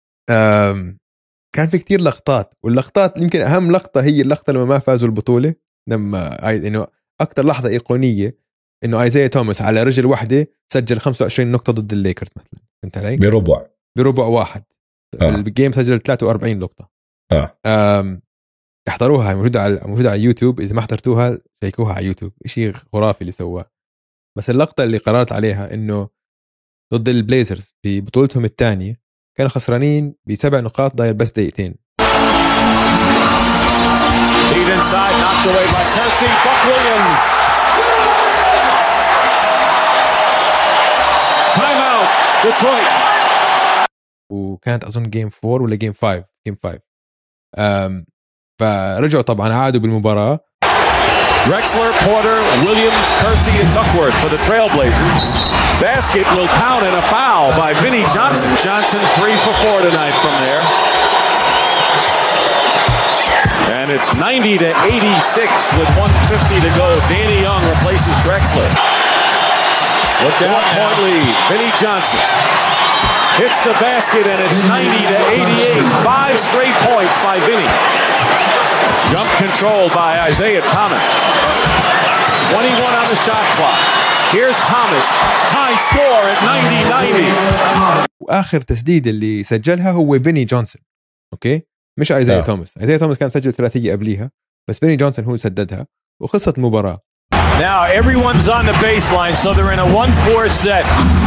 كان في كتير لقطات واللقطات يمكن أهم لقطة هي اللقطة لما ما فازوا البطولة لما إنه أكتر لحظة إيقونية إنه آيزايا توماس على رجل واحدة سجل 25 نقطة ضد الليكرز مثلا فهمت علي بربع واحد الجيم سجل 43 نقطة تحضروها، موجودة على يوتيوب. إذا ما حضرتوها شيكوها على يوتيوب، إشي خرافي اللي سواه. بس اللقطة اللي قررت عليها إنه ضد البليزرز في بطولتهم الثانية كانوا خسرانين ب7 نقاط ضايل بس دقيقتين. Feed inside, knocked away by Kersey. Buck Williams. Timeout, Detroit. وكانت أظن جيم 4 ولا جيم 5. فرجعوا طبعا عادوا بالمباراة. Drexler, Porter, Williams, Kersey, and Duckworth for the Trailblazers. Basket will count and a foul by Vinnie Johnson. Johnson 3 for 4 tonight from there. And it's 90-86 with 1:50 to go. Danny Young replaces Drexler. Look out, point lead. Vinnie Johnson hits the basket and it's 90-88. 5 straight points by Vinnie. Jump control by Isaiah Thomas. 21 on the shot clock. Here's Thomas. Tie score at 90-90. وآخر تسديد اللي سجلها هو فيني جونسون. أوكي؟ مش ايزايا توماس. ايزايا توماس كان سجل ثلاثية قبليها، بس فيني جونسون هو سددها وخلصت المباراة. Now everyone's on the baseline, so they're in a 1-4 set.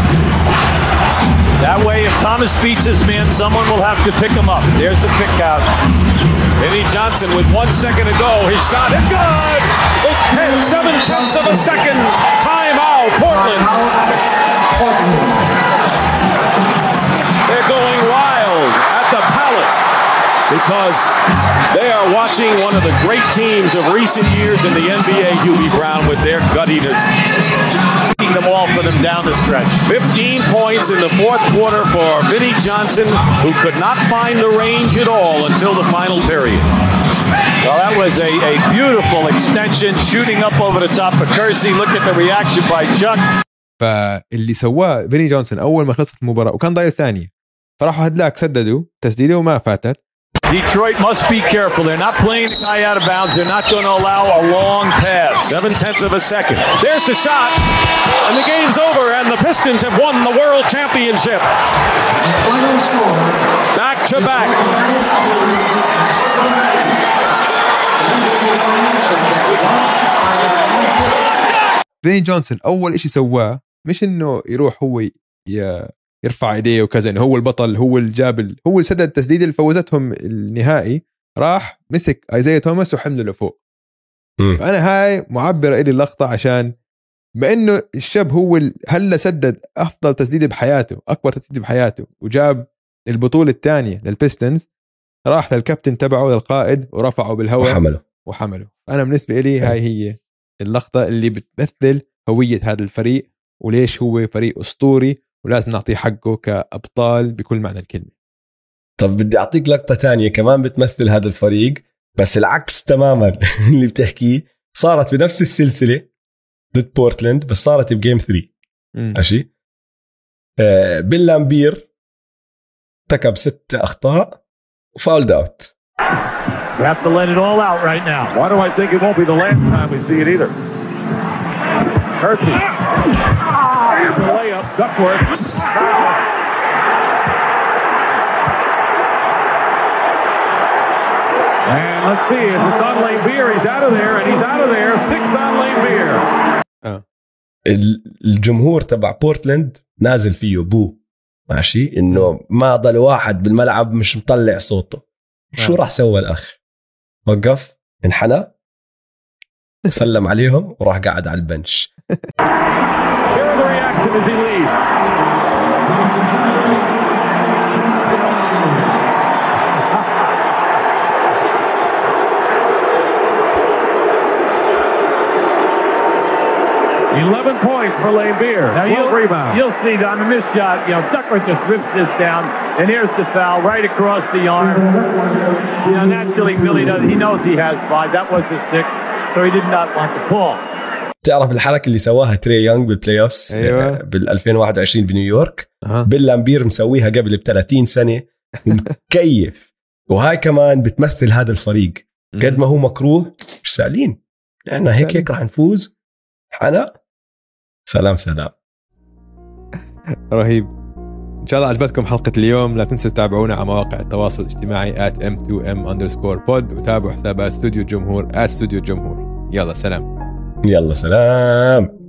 That way, if Thomas beats his man, someone will have to pick him up. There's the pick out. Vinnie Johnson with 1 second to go. His shot is good. 7/10 of a second. Timeout, Portland. They're going wild at the Palace because they are watching one of the great teams of recent years in the NBA, Hubie Brown, with their guttiness. Taking them all for them down the stretch. 15 points in the fourth quarter for Vinnie Johnson, who could not find the range at all until the final period. Well, that was a beautiful extension, shooting up over the top of Kersey. Look at the reaction by Chuck. فاللي سواه فيني جونسون أول ما خلصت المباراة وكان ضايل ثانية، فراحوا هدلاك سددوا تسديده وما فاتت. Detroit must be careful. They're not playing the guy out of bounds. They're not going to allow a long pass. 7/10 of a second. There's the shot. And the game's over. And the Pistons have won the World Championship. Back to back. فيني جونسون أول إشي سواه مش إنه يروح هو يرفع ايديه وكذا انه هو البطل، هو الجابل، هو اللي سدد التسديد اللي فوزتهم النهائي. راح مسك ايزايا توماس وحمله لفوق. فانا هاي معبره الي اللقطه، عشان بانه الشاب هو هلا سدد افضل تسديد بحياته، اكبر تسديد بحياته، وجاب البطوله الثانيه للبيستنز. راح للكابتن تبعه للقائد ورفعه بالهواء وحمله. انا بالنسبه لي هاي هي اللقطه اللي بتمثل هويه هذا الفريق وليش هو فريق اسطوري ولازم نعطيه حقه كأبطال بكل معنى الكلمة. طب بدي أعطيك لقطة تانية كمان بتمثل هذا الفريق، بس العكس تماما اللي بتحكيه. صارت بنفس السلسلة ضد بورتلاند، بس صارت بجيم 3. ماشي. بيل لامبير ارتكب 6 أخطاء وفاولد أوت. You have to let it all out right now. Why do I think it won't be the last time we see it either? Kersey. Here's a layup. Duckworth. And let's see. If it's on Lane Beer, he's out of there, and he's out of there. 6 on Lane Beer. الجمهور تبع بورتلاند نازل فيه بو. ماشي. إنه ما ضل واحد بالملعب مش مطلع صوته. شو راح سوى الأخ؟ وقف، انحنى، سلم عليهم وراح قاعد على البنش. As he leaves. 11 points for Lane Beer. Now you'll see on the missed shot, Duckworth just rips this down, and here's the foul right across the arm. Naturally, Billy he knows he has 5. That was his 6, so he did not want the ball. تعرف الحركة اللي سواها تري يونغ بالبلاي اوفس بال 2021 بنيويورك؟ بيل لامبير مسويها قبل ب30 سنة ومكيف. وهاي كمان بتمثل هذا الفريق قد ما هو مكروه مش سالين، لأنه هيك راح نفوز. حنا سلام. رهيب. إن شاء الله عجبتكم حلقة اليوم. لا تنسوا تتابعونا على مواقع التواصل الاجتماعي @m2m_pod وتابعوا حسابات استوديو الجمهور @استوديو الجمهور. يلا سلام. يلا سلام.